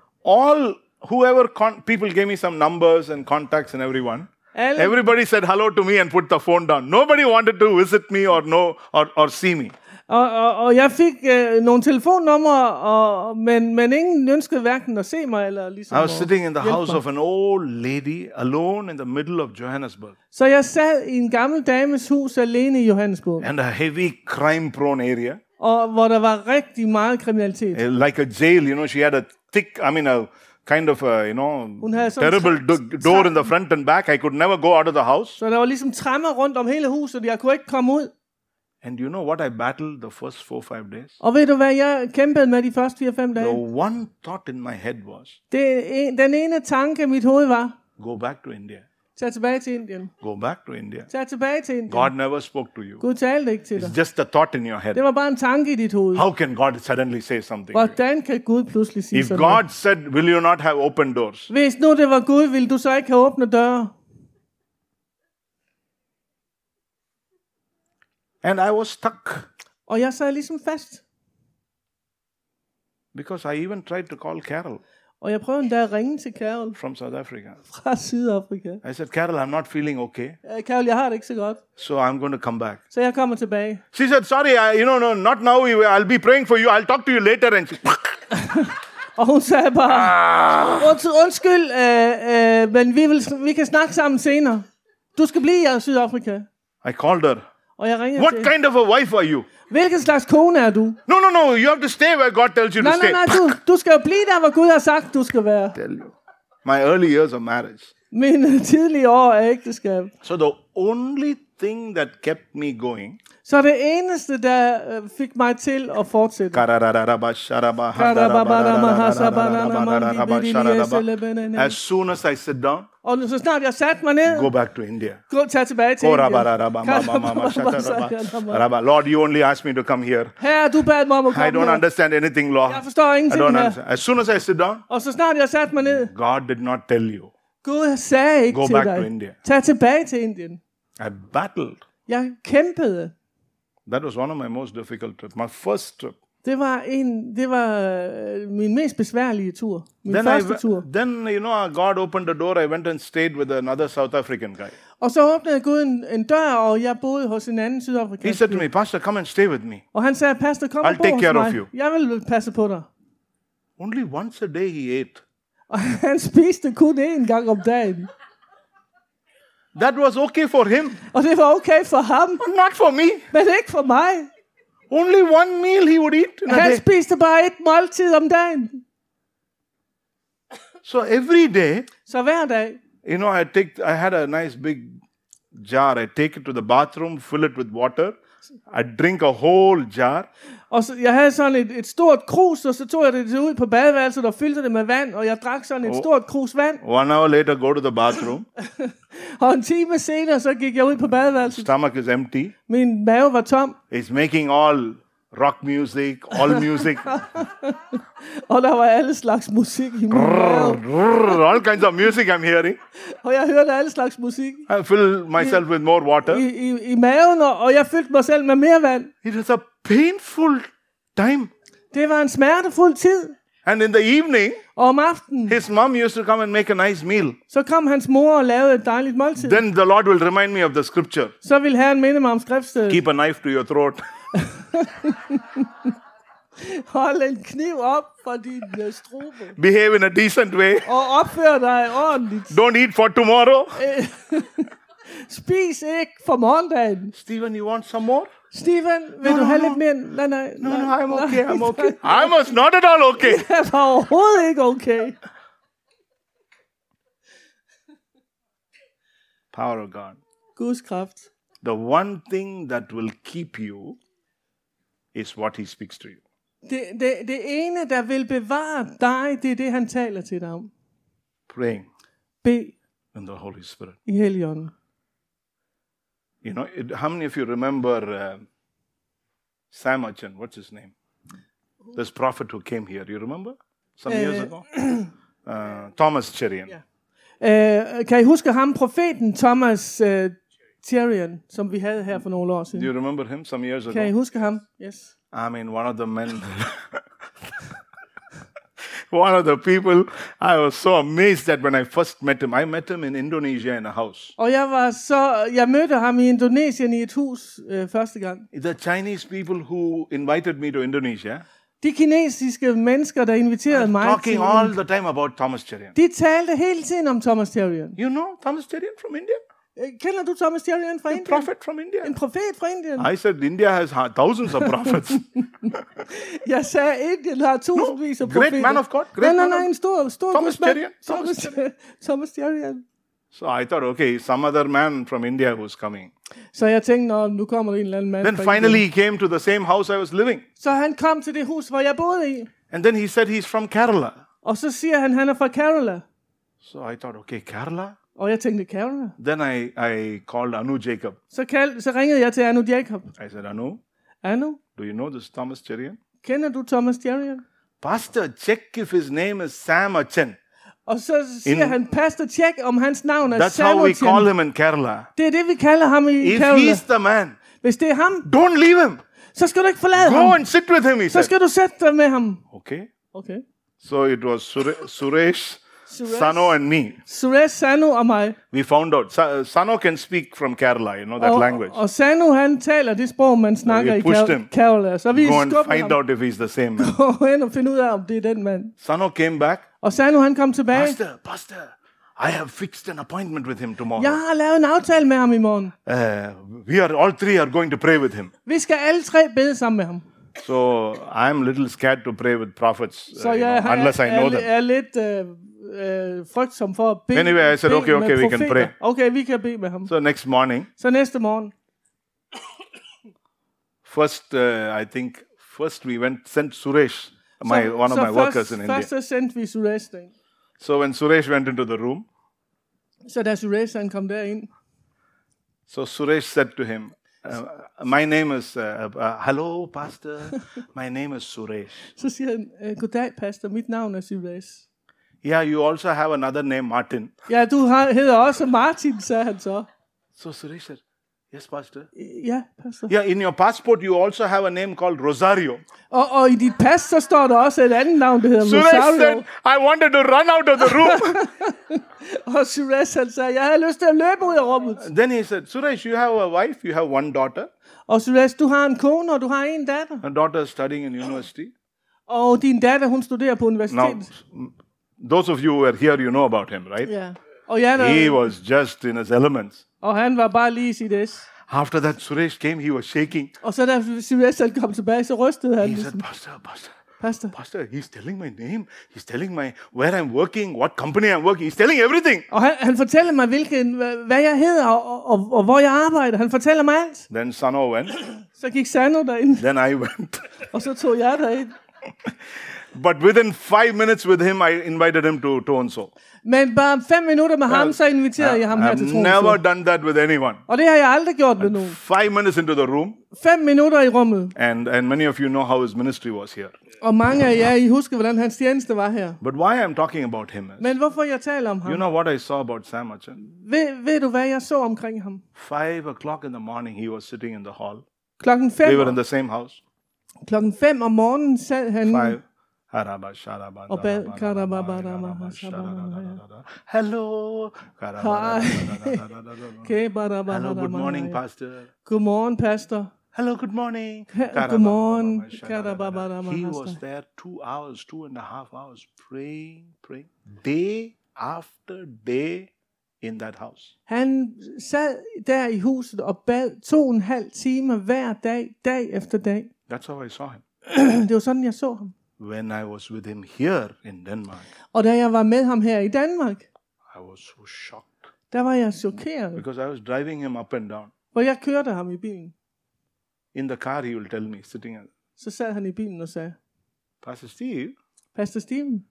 People gave me some numbers and contacts and everyone. Alle, Everybody said hello to me and put the phone down. Nobody wanted to visit me or see me. og jeg fik nogle telefonnumre, men ingen ønskede hverken at se mig eller ligesom I was at sitting in the hjælpe house mig. of an old lady alone in the middle of Johannesburg. Så jeg sad i en gammel dames hus alene i Johannesburg, And a heavy crime-prone area. og hvor der var rigtig meget kriminalitet. Like a jail, she had a kind of Hun havde sådan terrible door in the front and back. I could never go out of the house. Så der var ligesom tremmer rundt om hele huset, jeg kunne ikke komme ud. And you know what I battled the first 4-5 days? Og ved du hvad jeg kæmpede med de første 4-5 The dage? one thought in my head was, Den ene tanke i mit hoved var, go back to India. tag tilbage til Indien. Go back to India. Tag tilbage til Indien. God never spoke to you. Gud talte ikke til dig. It's just a thought in your head. Det var bare en tanke i dit hoved. How can God suddenly say something? Hvordan kan Gud pludselig sige If sådan God noget? said, will you not have open doors? Hvis nu det var Gud, ville du så ikke have åbnet døre? And I was stuck Og jeg sad ligesom fast. because I even tried to call Carol Og jeg prøvede endda at ringe til Carol from South Africa. fra Sydafrika. I said, Carol, I'm not feeling okay, Carol, jeg har det ikke så godt. so I'm going to come back. Så jeg kommer tilbage. She said, sorry, no, not now. I'll be praying for you. I'll talk to you later. And she, Og hun sagde bare, undskyld, men vi kan snakke sammen senere. Du skal blive i Sydafrika. I called her. Og jeg ringede What til kind of a wife are you? hvilken slags kone er du? No, you have to stay where God tells you to stay. Nej, du skal jo blive der, hvor Gud har sagt, du skal være. Tell you. My early years of marriage. Mine tidlige år af ægteskab. So the only thing that kept me going. Så det eneste, der fik mig til at fortsætte. As soon as I sit down, Og så snart jeg satte mig ned, go back to India. tag tilbage til Indien. Lord, you only asked me to come here. Herre, du bad mig om at I komme don't her. understand anything, Lord. Jeg forstår I ingenting don't her. understand. As soon as I sit down, Og så snart jeg satte mig ned, God did not tell you. Gud sagde ikke Go til back to dig, India. tag tilbage til Indien. I battled. Jeg kæmpede. That was one of my most difficult trips. My first trip. Det var min mest besværlige tur. Min første tur. Then God opened the door. I went and stayed with another South African guy. Og så åbnede Gud en dør, og jeg boede hos en anden He sydafrikansk. said to me, Pastor, come and stay with me. Og han sagde, pastor, kom og I'll bo take hos care of mig. you. Jeg vil passe på dig. Only once a day he ate. Og han spiste kun én gang om dagen. That was okay for him, Og det var okay for ham, but not for me. men ikke for mig. Only one meal he would eat in a Han day. spiste bare et måltid om dagen. So every day, Så hver dag, I had a nice big jar. I take it to the bathroom, fill it with water. I drink a whole jar. og så, jeg havde sådan et stort krus, og så tog jeg det ud på badeværelset og fyldte det med vand, og jeg drak sådan et stort krus vand. 1 hour later, go to the bathroom. Og en time senere, så gik jeg ud på badeværelset. Stomach is empty. Min mave var tom, It's making all rock music, all music. og der var alle slags musik i min mave. All kinds of music I'm hearing. Og jeg hørte alle slags musik I fill myself with more water. i maven, og jeg fyldte mig selv med mere vand. It was a painful time. Det var en smertefuld tid. And in the evening, Og om aftenen, his mom used to come and make a nice meal. så kom hans mor og lavede et dejligt måltid. Then the Lord will remind me of the scripture. Så vil Herren minde mig om skriftstedet. Keep a knife to your throat. Hold en kniv op for din strube. Behave in a decent way. Og opfør dig ordentligt. Don't eat for tomorrow. Spis ikke for morgendagen. Stephen, you want some more? Steven, vil du have lidt mere? Nej. No, I'm okay. I'm okay. I was not at all okay. Jeg var overhovedet ikke okay. Power of God. Guds kraft. The one thing that will keep you is what he speaks to you. Det ene, der vil bevare dig, det er det, han taler til dig om. Praying Bed in the Holy Spirit. i Helligånden. You know, how many of you remember Sam Achan? What's his name? This prophet who came here. You remember? Some years ago? Thomas Cherian. Kan I huske ham, profeten Thomas Cherian, som vi havde her for nogle år siden? Do you remember him some years ago? Kan I huske ham? Yes. I mean, one of the men, one of the people, I was so amazed at when I first met him. I met him in Indonesia in a house. Og jeg mødte ham i Indonesien i et hus første gang. The Chinese people who invited me to Indonesia, De kinesiske mennesker, der inviterede mig talking til, all the time about Thomas Cherian. de talte hele tiden om Thomas Cherian. You know Thomas Cherian from India? Kender du Thomas Cherian fra A Indien? prophet from India. En profet fra Indien. I said India has thousands of prophets. Jeg sagde, Indien har tusindvis af great profeter. man of God, great man Nej, of- en stor Thomas gudsmand. Cherian. Thomas Cherian. So I thought, okay, some other man from India who's coming. Så jeg tænkte, nu kommer der en eller anden mand Then fra finally Indien. he came to the same house I was living. Så han kom til det hus, hvor jeg boede i. And then he said he's from Kerala. Og så siger han er fra Kerala. So I thought, okay, Kerala? Og jeg tænkte, Kerala? Then I called Anu Jacob. Så ringede jeg til Anu Jacob. I said, Anu, Anu, do you know this Thomas Cherian? kender du Thomas Cherian? Pastor, check if his name is Sam Achan. Og så siger han, pastor, tjek om hans navn er That's how we Samuel. call him in Kerala. Det er det, vi kalder ham i If Kerala. he's the man, Hvis det er ham, don't leave him. så skal du ikke forlade Go ham. and sit with him, he Så said. skal du sætte dig med ham. Okay. Okay. So it was Suresh, Sano and me. Suresh, Sanu og mig. We found out. Sano can speak from Kerala, you know that language. Og Sanu, han taler det sprog, man snakker i pushed him. Kerala. Så vi Go and skubber find ham. out if he's the same man. Gå hen og finde ud af, om det er den mand. Sano came back. Og Sanu, han kom tilbage. Pastor, I have fixed an appointment with him tomorrow. Jeg har lavet en aftale med ham i morgen. All three are going to pray with him. Vi skal alle tre bede sammen med ham. So I'm a little scared to pray with prophets, Så jeg unless I know them. er lidt frygtsom for at bede. Anyway, I said, bede okay, med we can profeter. pray. Okay, vi kan bede med ham. So next morning, Så næste morgen, first we sent Suresh, one of my workers in India. Først så sendte vi Suresh derind. So when Suresh went into the room, Så da Suresh han kom derind, so Suresh said to him, my name is, hello, pastor, my name is Suresh. så siger han, goddag pastor, mit navn er Suresh. Yeah, you also have another name, Martin. Ja, du hedder også Martin, sagde han så. So Suresh said, yes, pastor. Ja, pastor. Yeah, in your passport, you also have a name called Rosario. Og i dit pas, så står der også et andet navn, der hedder Suresh said, Rosario. I wanted to run out of the room. Og Suresh han sagde, jeg havde lyst til at løbe ud af rummet. Then he said, Suresh, you have a wife, you have one daughter. Og Suresh, du har en kone, og du har en datter. Her daughter is studying in university. Og din datter, hun studerer på Now, universitetet. those of you who are here, you know about him, right? Ja. Og, jeg, He was just in his elements. og han var bare lige i sit es. After that, Suresh came, he was shaking. Og så da Suresh han kom tilbage, så rystede han. He said, Ligesom, Pastor, pastor. he's telling my name. He's telling where I'm working, what company I'm working. He's telling everything. Og han fortæller mig, hvad jeg hedder, og hvor jeg arbejder. Han fortæller mig alt. Then Sano went. Så gik Sano derind, Then I went. og så tog jeg derind. But within 5 minutes with him, I invited him to Toronto. Men bare 5 minutter med ham, så inviterede jeg ham her I've til never Tromsø. done that with anyone. Og det har jeg aldrig gjort med nogen. 5 minutes into the room, 5 minutter i rummet. and many of you know how his ministry was here. Og mange af jer, I husker, hvordan hans tjeneste var her. But why I'm talking about him is, Men hvorfor jeg taler om ham? you know what I saw about Sam Achan? Ved du, hvad jeg så omkring ham? 5 o'clock in the morning, he was sitting in the hall. Klokken We were in 5, the same house. klokken 5 om morgenen sad han 5. Og bad. Hello. Hej. Hello, good morning, pastor. Godmorgen, pastor. Hello, good morning. Godmorgen. He was there 2 hours, 2.5 hours, praying, day after day in that house. Han sad der i huset og bad 2,5 timer hver dag, dag efter dag. That's how I saw him. Det var sådan, jeg så ham. When I was with him here in Denmark, Og da jeg var med ham her i Danmark, I was so shocked der var jeg chokeret. because I was driving him up and down. For jeg kørte ham i bilen. In the car, he will tell me, sitting at, Så sad han i bilen og sagde, Pastor Steve, Pastor Steven,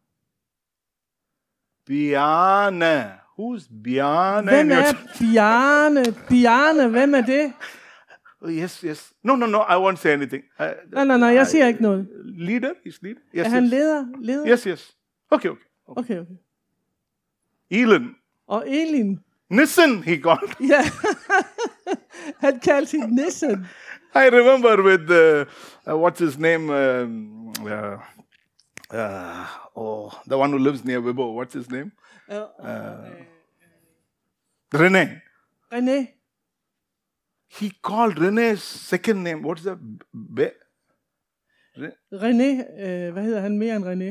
Bjarne. Who's Bjarne? hvem er Bjarne? Bjarne, hvem er det? Oh, yes. No, I won't say anything. Nej, jeg siger ikke noget. Leader? He's leader? Yes, Er han yes. leder? Yes. Okay. Okay. Elon. Og Elin, Nissen, he called. ja, han kaldte hende Nissen. I remember with, what's his name? The one who lives near Vibo. What's his name? René. René, He called René's second name. What's that? René, hvad hedder han mere end René?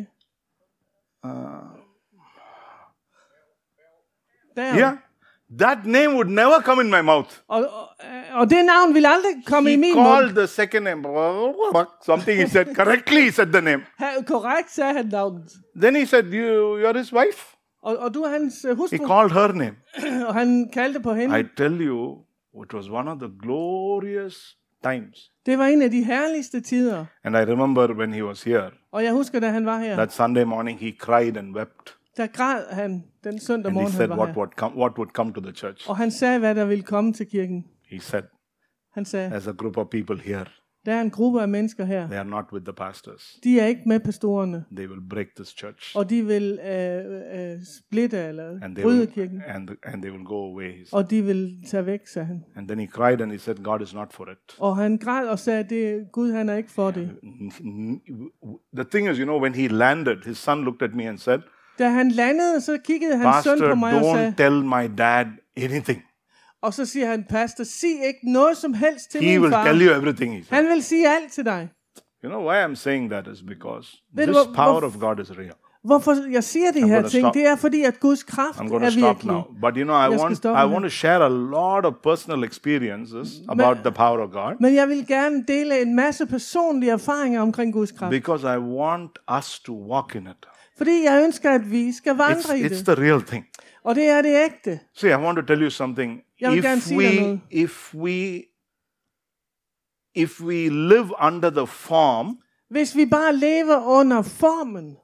Der. Yeah. That name would never come in my mouth. Og det navn ville aldrig komme i He min called mund. the second name. Something he said. Correctly he said the name. Korrekt sagde han navnet. Then he said, you're his wife. Og du er hans He hustru, called her name. og han kaldte på hende. I tell you, it was one of the glorious times. Det var en af de herligste tider. And I remember when he was here, Og jeg husker, da han var her, that Sunday morning he cried and wept. der græd han den søndag And he morgen, said han var her. what would come to the church. Og han sagde, hvad der ville komme til kirken. He said, Han sagde, there's a group of people here. der er en gruppe af mennesker her. They are not with the pastors. De er ikke med pastorerne. They will break this church. Og de vil splitte eller And they bryde will, kirken. and they will go away. He said. Og de vil tage væk, sagde han. And then he cried and he said, God is not for it. Og han græd og sagde, det Gud han er ikke for det. The thing is, when he landed, his son looked at me and said, Da han landede, så kiggede hans søn Pastor, på mig og sagde, don't tell my dad anything. og så siger han, pastor, sig ikke noget som helst til He min will far. tell you everything, he said. Han vil sige alt til dig. You know why I'm saying that is because Ved du, this power of God is real. Hvorfor jeg siger de her gonna ting, stop. det er fordi, at Guds kraft I'm going er to stop virkelig. now. But I Jeg skal stoppe I nu. want to share a lot of personal experiences about the power of God Men jeg vil gerne dele en masse personlige erfaringer omkring Guds kraft. because I want us to walk in it. Fordi jeg ønsker, at vi skal vandre i It's det. the real thing. Og det er det ægte. See, I want to tell you something. Jeg vil gerne sige dig noget. If we live under the form, Hvis vi bare lever under formen,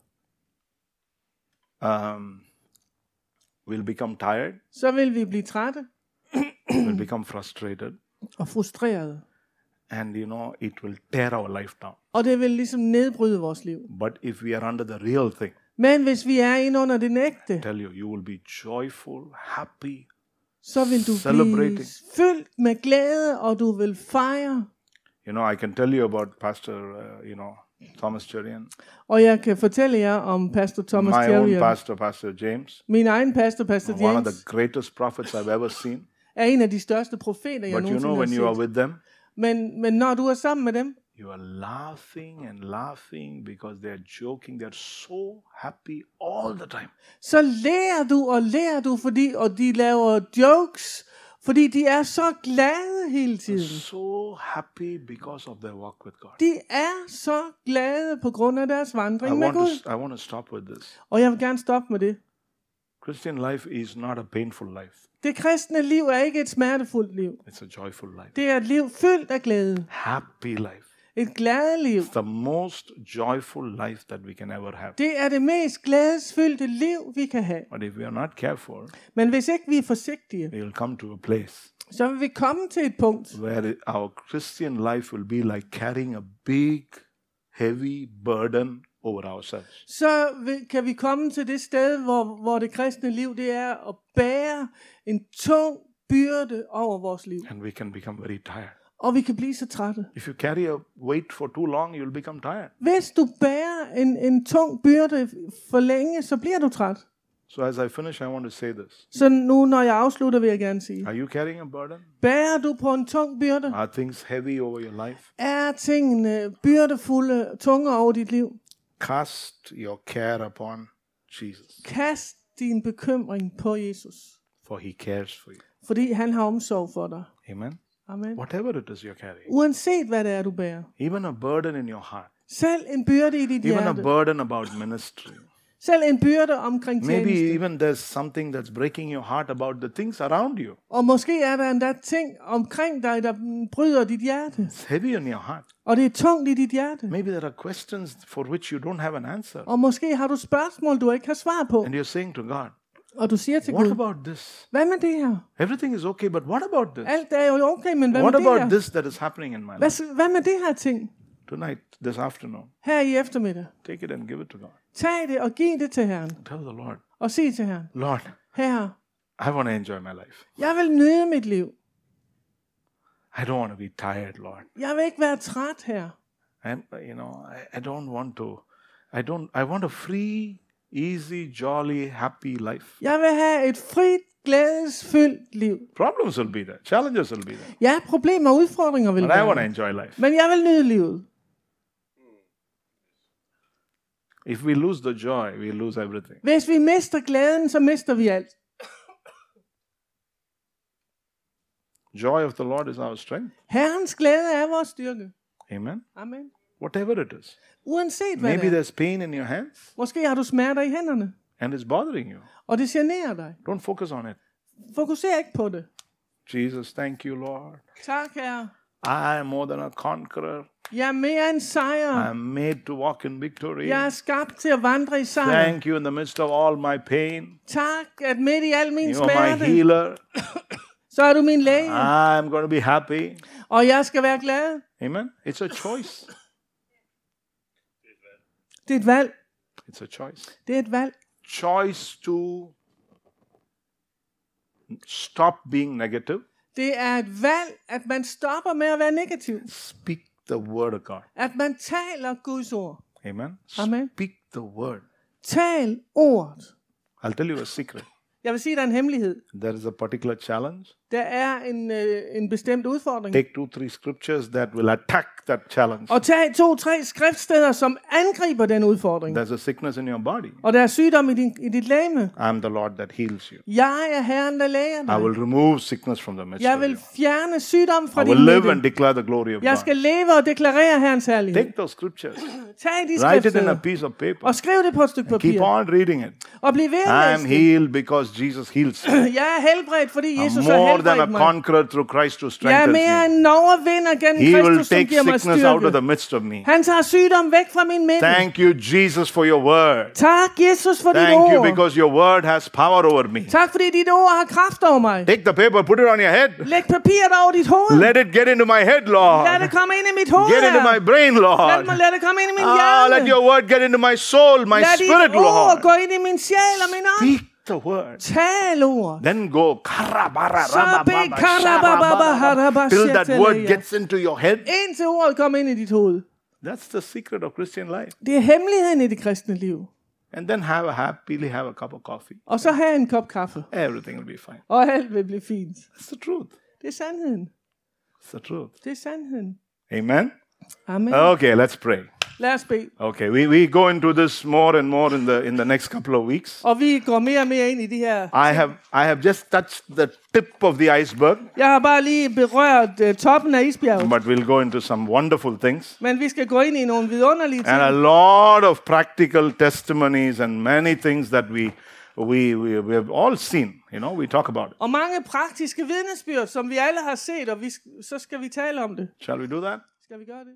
we'll become tired, så vil vi blive trætte we'll become frustrated, og frustrerede. and it will tear our life down. Og det vil ligesom nedbryde vores liv. But if we are under the real thing, Men hvis vi er inde under det ægte, tell you will be joyful, happy, så vil du blive celebrating. fyldt med glæde, og du vil fejre. I can tell you about Pastor, Thomas Cherian, Og jeg kan fortælle jer om pastor Thomas my own Cherian. pastor James, Min egen pastor one of the James, greatest prophets I've ever seen. er en af de største profeter, jeg But nogensinde when you har are set. with them, Men når du er sammen med dem, you are laughing and laughing because they are joking. They are so happy all the time. så lærer du, og de laver jokes, fordi de er så glade hele tiden. So happy because of their walk with God. De er så glade på grund af deres vandring med Gud. I want to stop with this. Og jeg vil gerne stoppe med det. Christian life is not a painful life. Det kristne liv er ikke et smertefuldt liv. It's a joyful life. Det er et liv fyldt af glæde. Happy life. Et glade liv. It's the most joyful life that we can ever have. Det er det mest glædesfyldte liv, vi kan have. But if we are not careful, Men hvis ikke vi er forsigtige, we will come to a place så vil vi komme til et punkt, where our Christian life will be like carrying a big, heavy burden over ourselves. så kan vi komme til det sted, hvor det kristne liv, det er at bære en tung byrde over vores liv. And we can become very tired. Og vi kan blive så trætte. If you carry a weight for too long, you'll become tired. Hvis du bærer en tung byrde for længe, så bliver du træt. So as I finish, I want to say this. Så nu, når jeg afslutter, vil jeg gerne sige. Are you carrying a burden? Bærer du på en tung byrde? Are things heavy over your life? Er tingene byrdefulde, tunge over dit liv? Cast your care upon Jesus, Kast din bekymring på Jesus. for he cares for you. Fordi han har omsorg for dig. Amen. Amen. Whatever it is you're carrying, Uanset hvad det er, du bærer. even a burden in your heart, Selv en byrde i dit even a hjerte. burden about ministry. Selv en byrde omkring Maybe tjeneste. even there's something that's breaking your heart about the things around you. Og måske er der endda ting omkring dig, der bryder dit hjerte. It's heavy in your heart. Og det er tungt i dit hjerte. Maybe there are questions for which you don't have an answer. Og måske har du spørgsmål, du ikke har svar på. And you're saying to God, Og du siger til what Gud, about this? hvad med det her? Everything is okay, but what about this? Alt er jo okay, men hvad What med det about her? this that is happening in my life? Hvad med det her ting? Tonight, this afternoon, Her i eftermiddag. take it and give it to God. Tag det og giv det til Herren. Tell the Lord, Og sig til Herren, Lord, Herre, I want to enjoy my life. jeg vil nyde mit liv. I don't want to be tired, Lord. Jeg vil ikke være træt her. And I don't want to. I want a free, easy, jolly, happy life. Jeg vil have et frit, glædesfyldt liv. Problems will be there. Challenges will be there. Ja, problemer og udfordringer vil But I want to være. enjoy life. Men jeg vil nyde livet. If we lose the joy, we lose everything. Hvis vi mister glæden, så mister vi alt. Joy of the Lord is our strength. Herrens glæde er vores styrke. Amen. Amen. Whatever it is. Uanset hvad Maybe det er. there's pain in your hands Måske har du smerter i hænderne, and it's bothering you. og det generer dig. Don't focus on it. Fokuser ikke på det. Jesus, thank you, Lord. Tak, Herre. I am more than a conqueror. Jeg er mere end I sejr. am made to walk in victory. Jeg er skabt til at vandre i sejr. Thank you in the midst of all my pain. Tak, at midt i al min You are my smerte, healer. så er du min læge. I'm going to be happy. Og jeg skal være glad. Amen. It's a choice. Det er et valg. It's a choice. Det er et valg. Choice to stop being negative. Det er et valg, at man stopper med at være negativ. Speak the word of God. At man taler Guds ord. Amen. Amen. Speak the word. Tal ordet. I'll tell you a secret. Jeg vil sige, der er en hemmelighed. There is a particular challenge. Der er en bestemt udfordring. Take 2-3 scriptures that will attack that challenge. Og tag 2-3 skriftsteder, som angriber den udfordring. There's a sickness in your body. Og der er sygdom i dit legeme. I'm the Lord that heals you. Jeg er Herren, der læger I dig. will remove sickness from the midst Jeg of vil you. fjerne sygdom fra I din will live and midte. declare the glory of Jeg God. skal leve og deklarere Herrens herlighed. Take those scriptures. Tag de Write it in a skriftsteder piece of paper. og skriv det på et stykke Keep papir. on reading it. Og bliv ved I at am læse det. healed because Jesus heals me. Jeg er helbredt, fordi I'm Jesus har more than a helbredt mig. conqueror through Christ who Jeg er strengthens mere me. end en overvinder gennem He will Kristus, som take giver mig sickness out of styrke. the midst of me. Han tager sygdom væk fra min midte. Thank you, Jesus, for your word. Tak, Jesus, for dit Thank you ord. because your word has power over me. Tak, fordi dit ord har kraft over mig. Take the paper, put it on your head. Læg papiret over dit hoved. Let it get into my head, Lord. Lad det komme ind i mit hoved. Get into my Herre. brain, Lord. Lad det komme ind i min Let hjerne. your word get into my soul, my Lad spirit, dit ord Lord. gå ind i min sjæl og min ånd. Speak the word. Tal ord. Then go Karababa, till that word shatelia. gets into your head. Indtil ordet kommer ind i dit hoved. That's the secret of Christian life. Det er hemmeligheden i det kristne liv. And then happily have a cup of coffee. Og så have en kop kaffe. Everything will be fine. Og alt vil blive fint. That's the truth. Det er sandheden. It's the truth. Det er sandheden. Amen. Amen. Okay, let's pray. Lad os bede. Okay, we go into this more and more in the next couple of weeks. Og vi går mere og mere ind i de her. I have just touched the tip of the iceberg, Jeg har bare lige berørt toppen af isbjerget. but we'll go into some wonderful things. Men vi skal gå ind i nogle vidunderlige And a ting. lot of practical testimonies and many things that we have all seen. We talk about it. Og mange praktiske vidnesbyrd, som vi alle har set, og så skal vi tale om det. Shall we do that? Skal vi gøre det?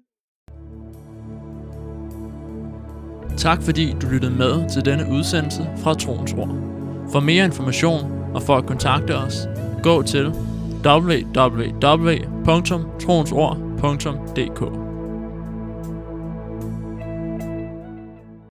Tak fordi du lyttede med til denne udsendelse fra Troens Ord. For mere information og for at kontakte os, gå til www.troensord.dk.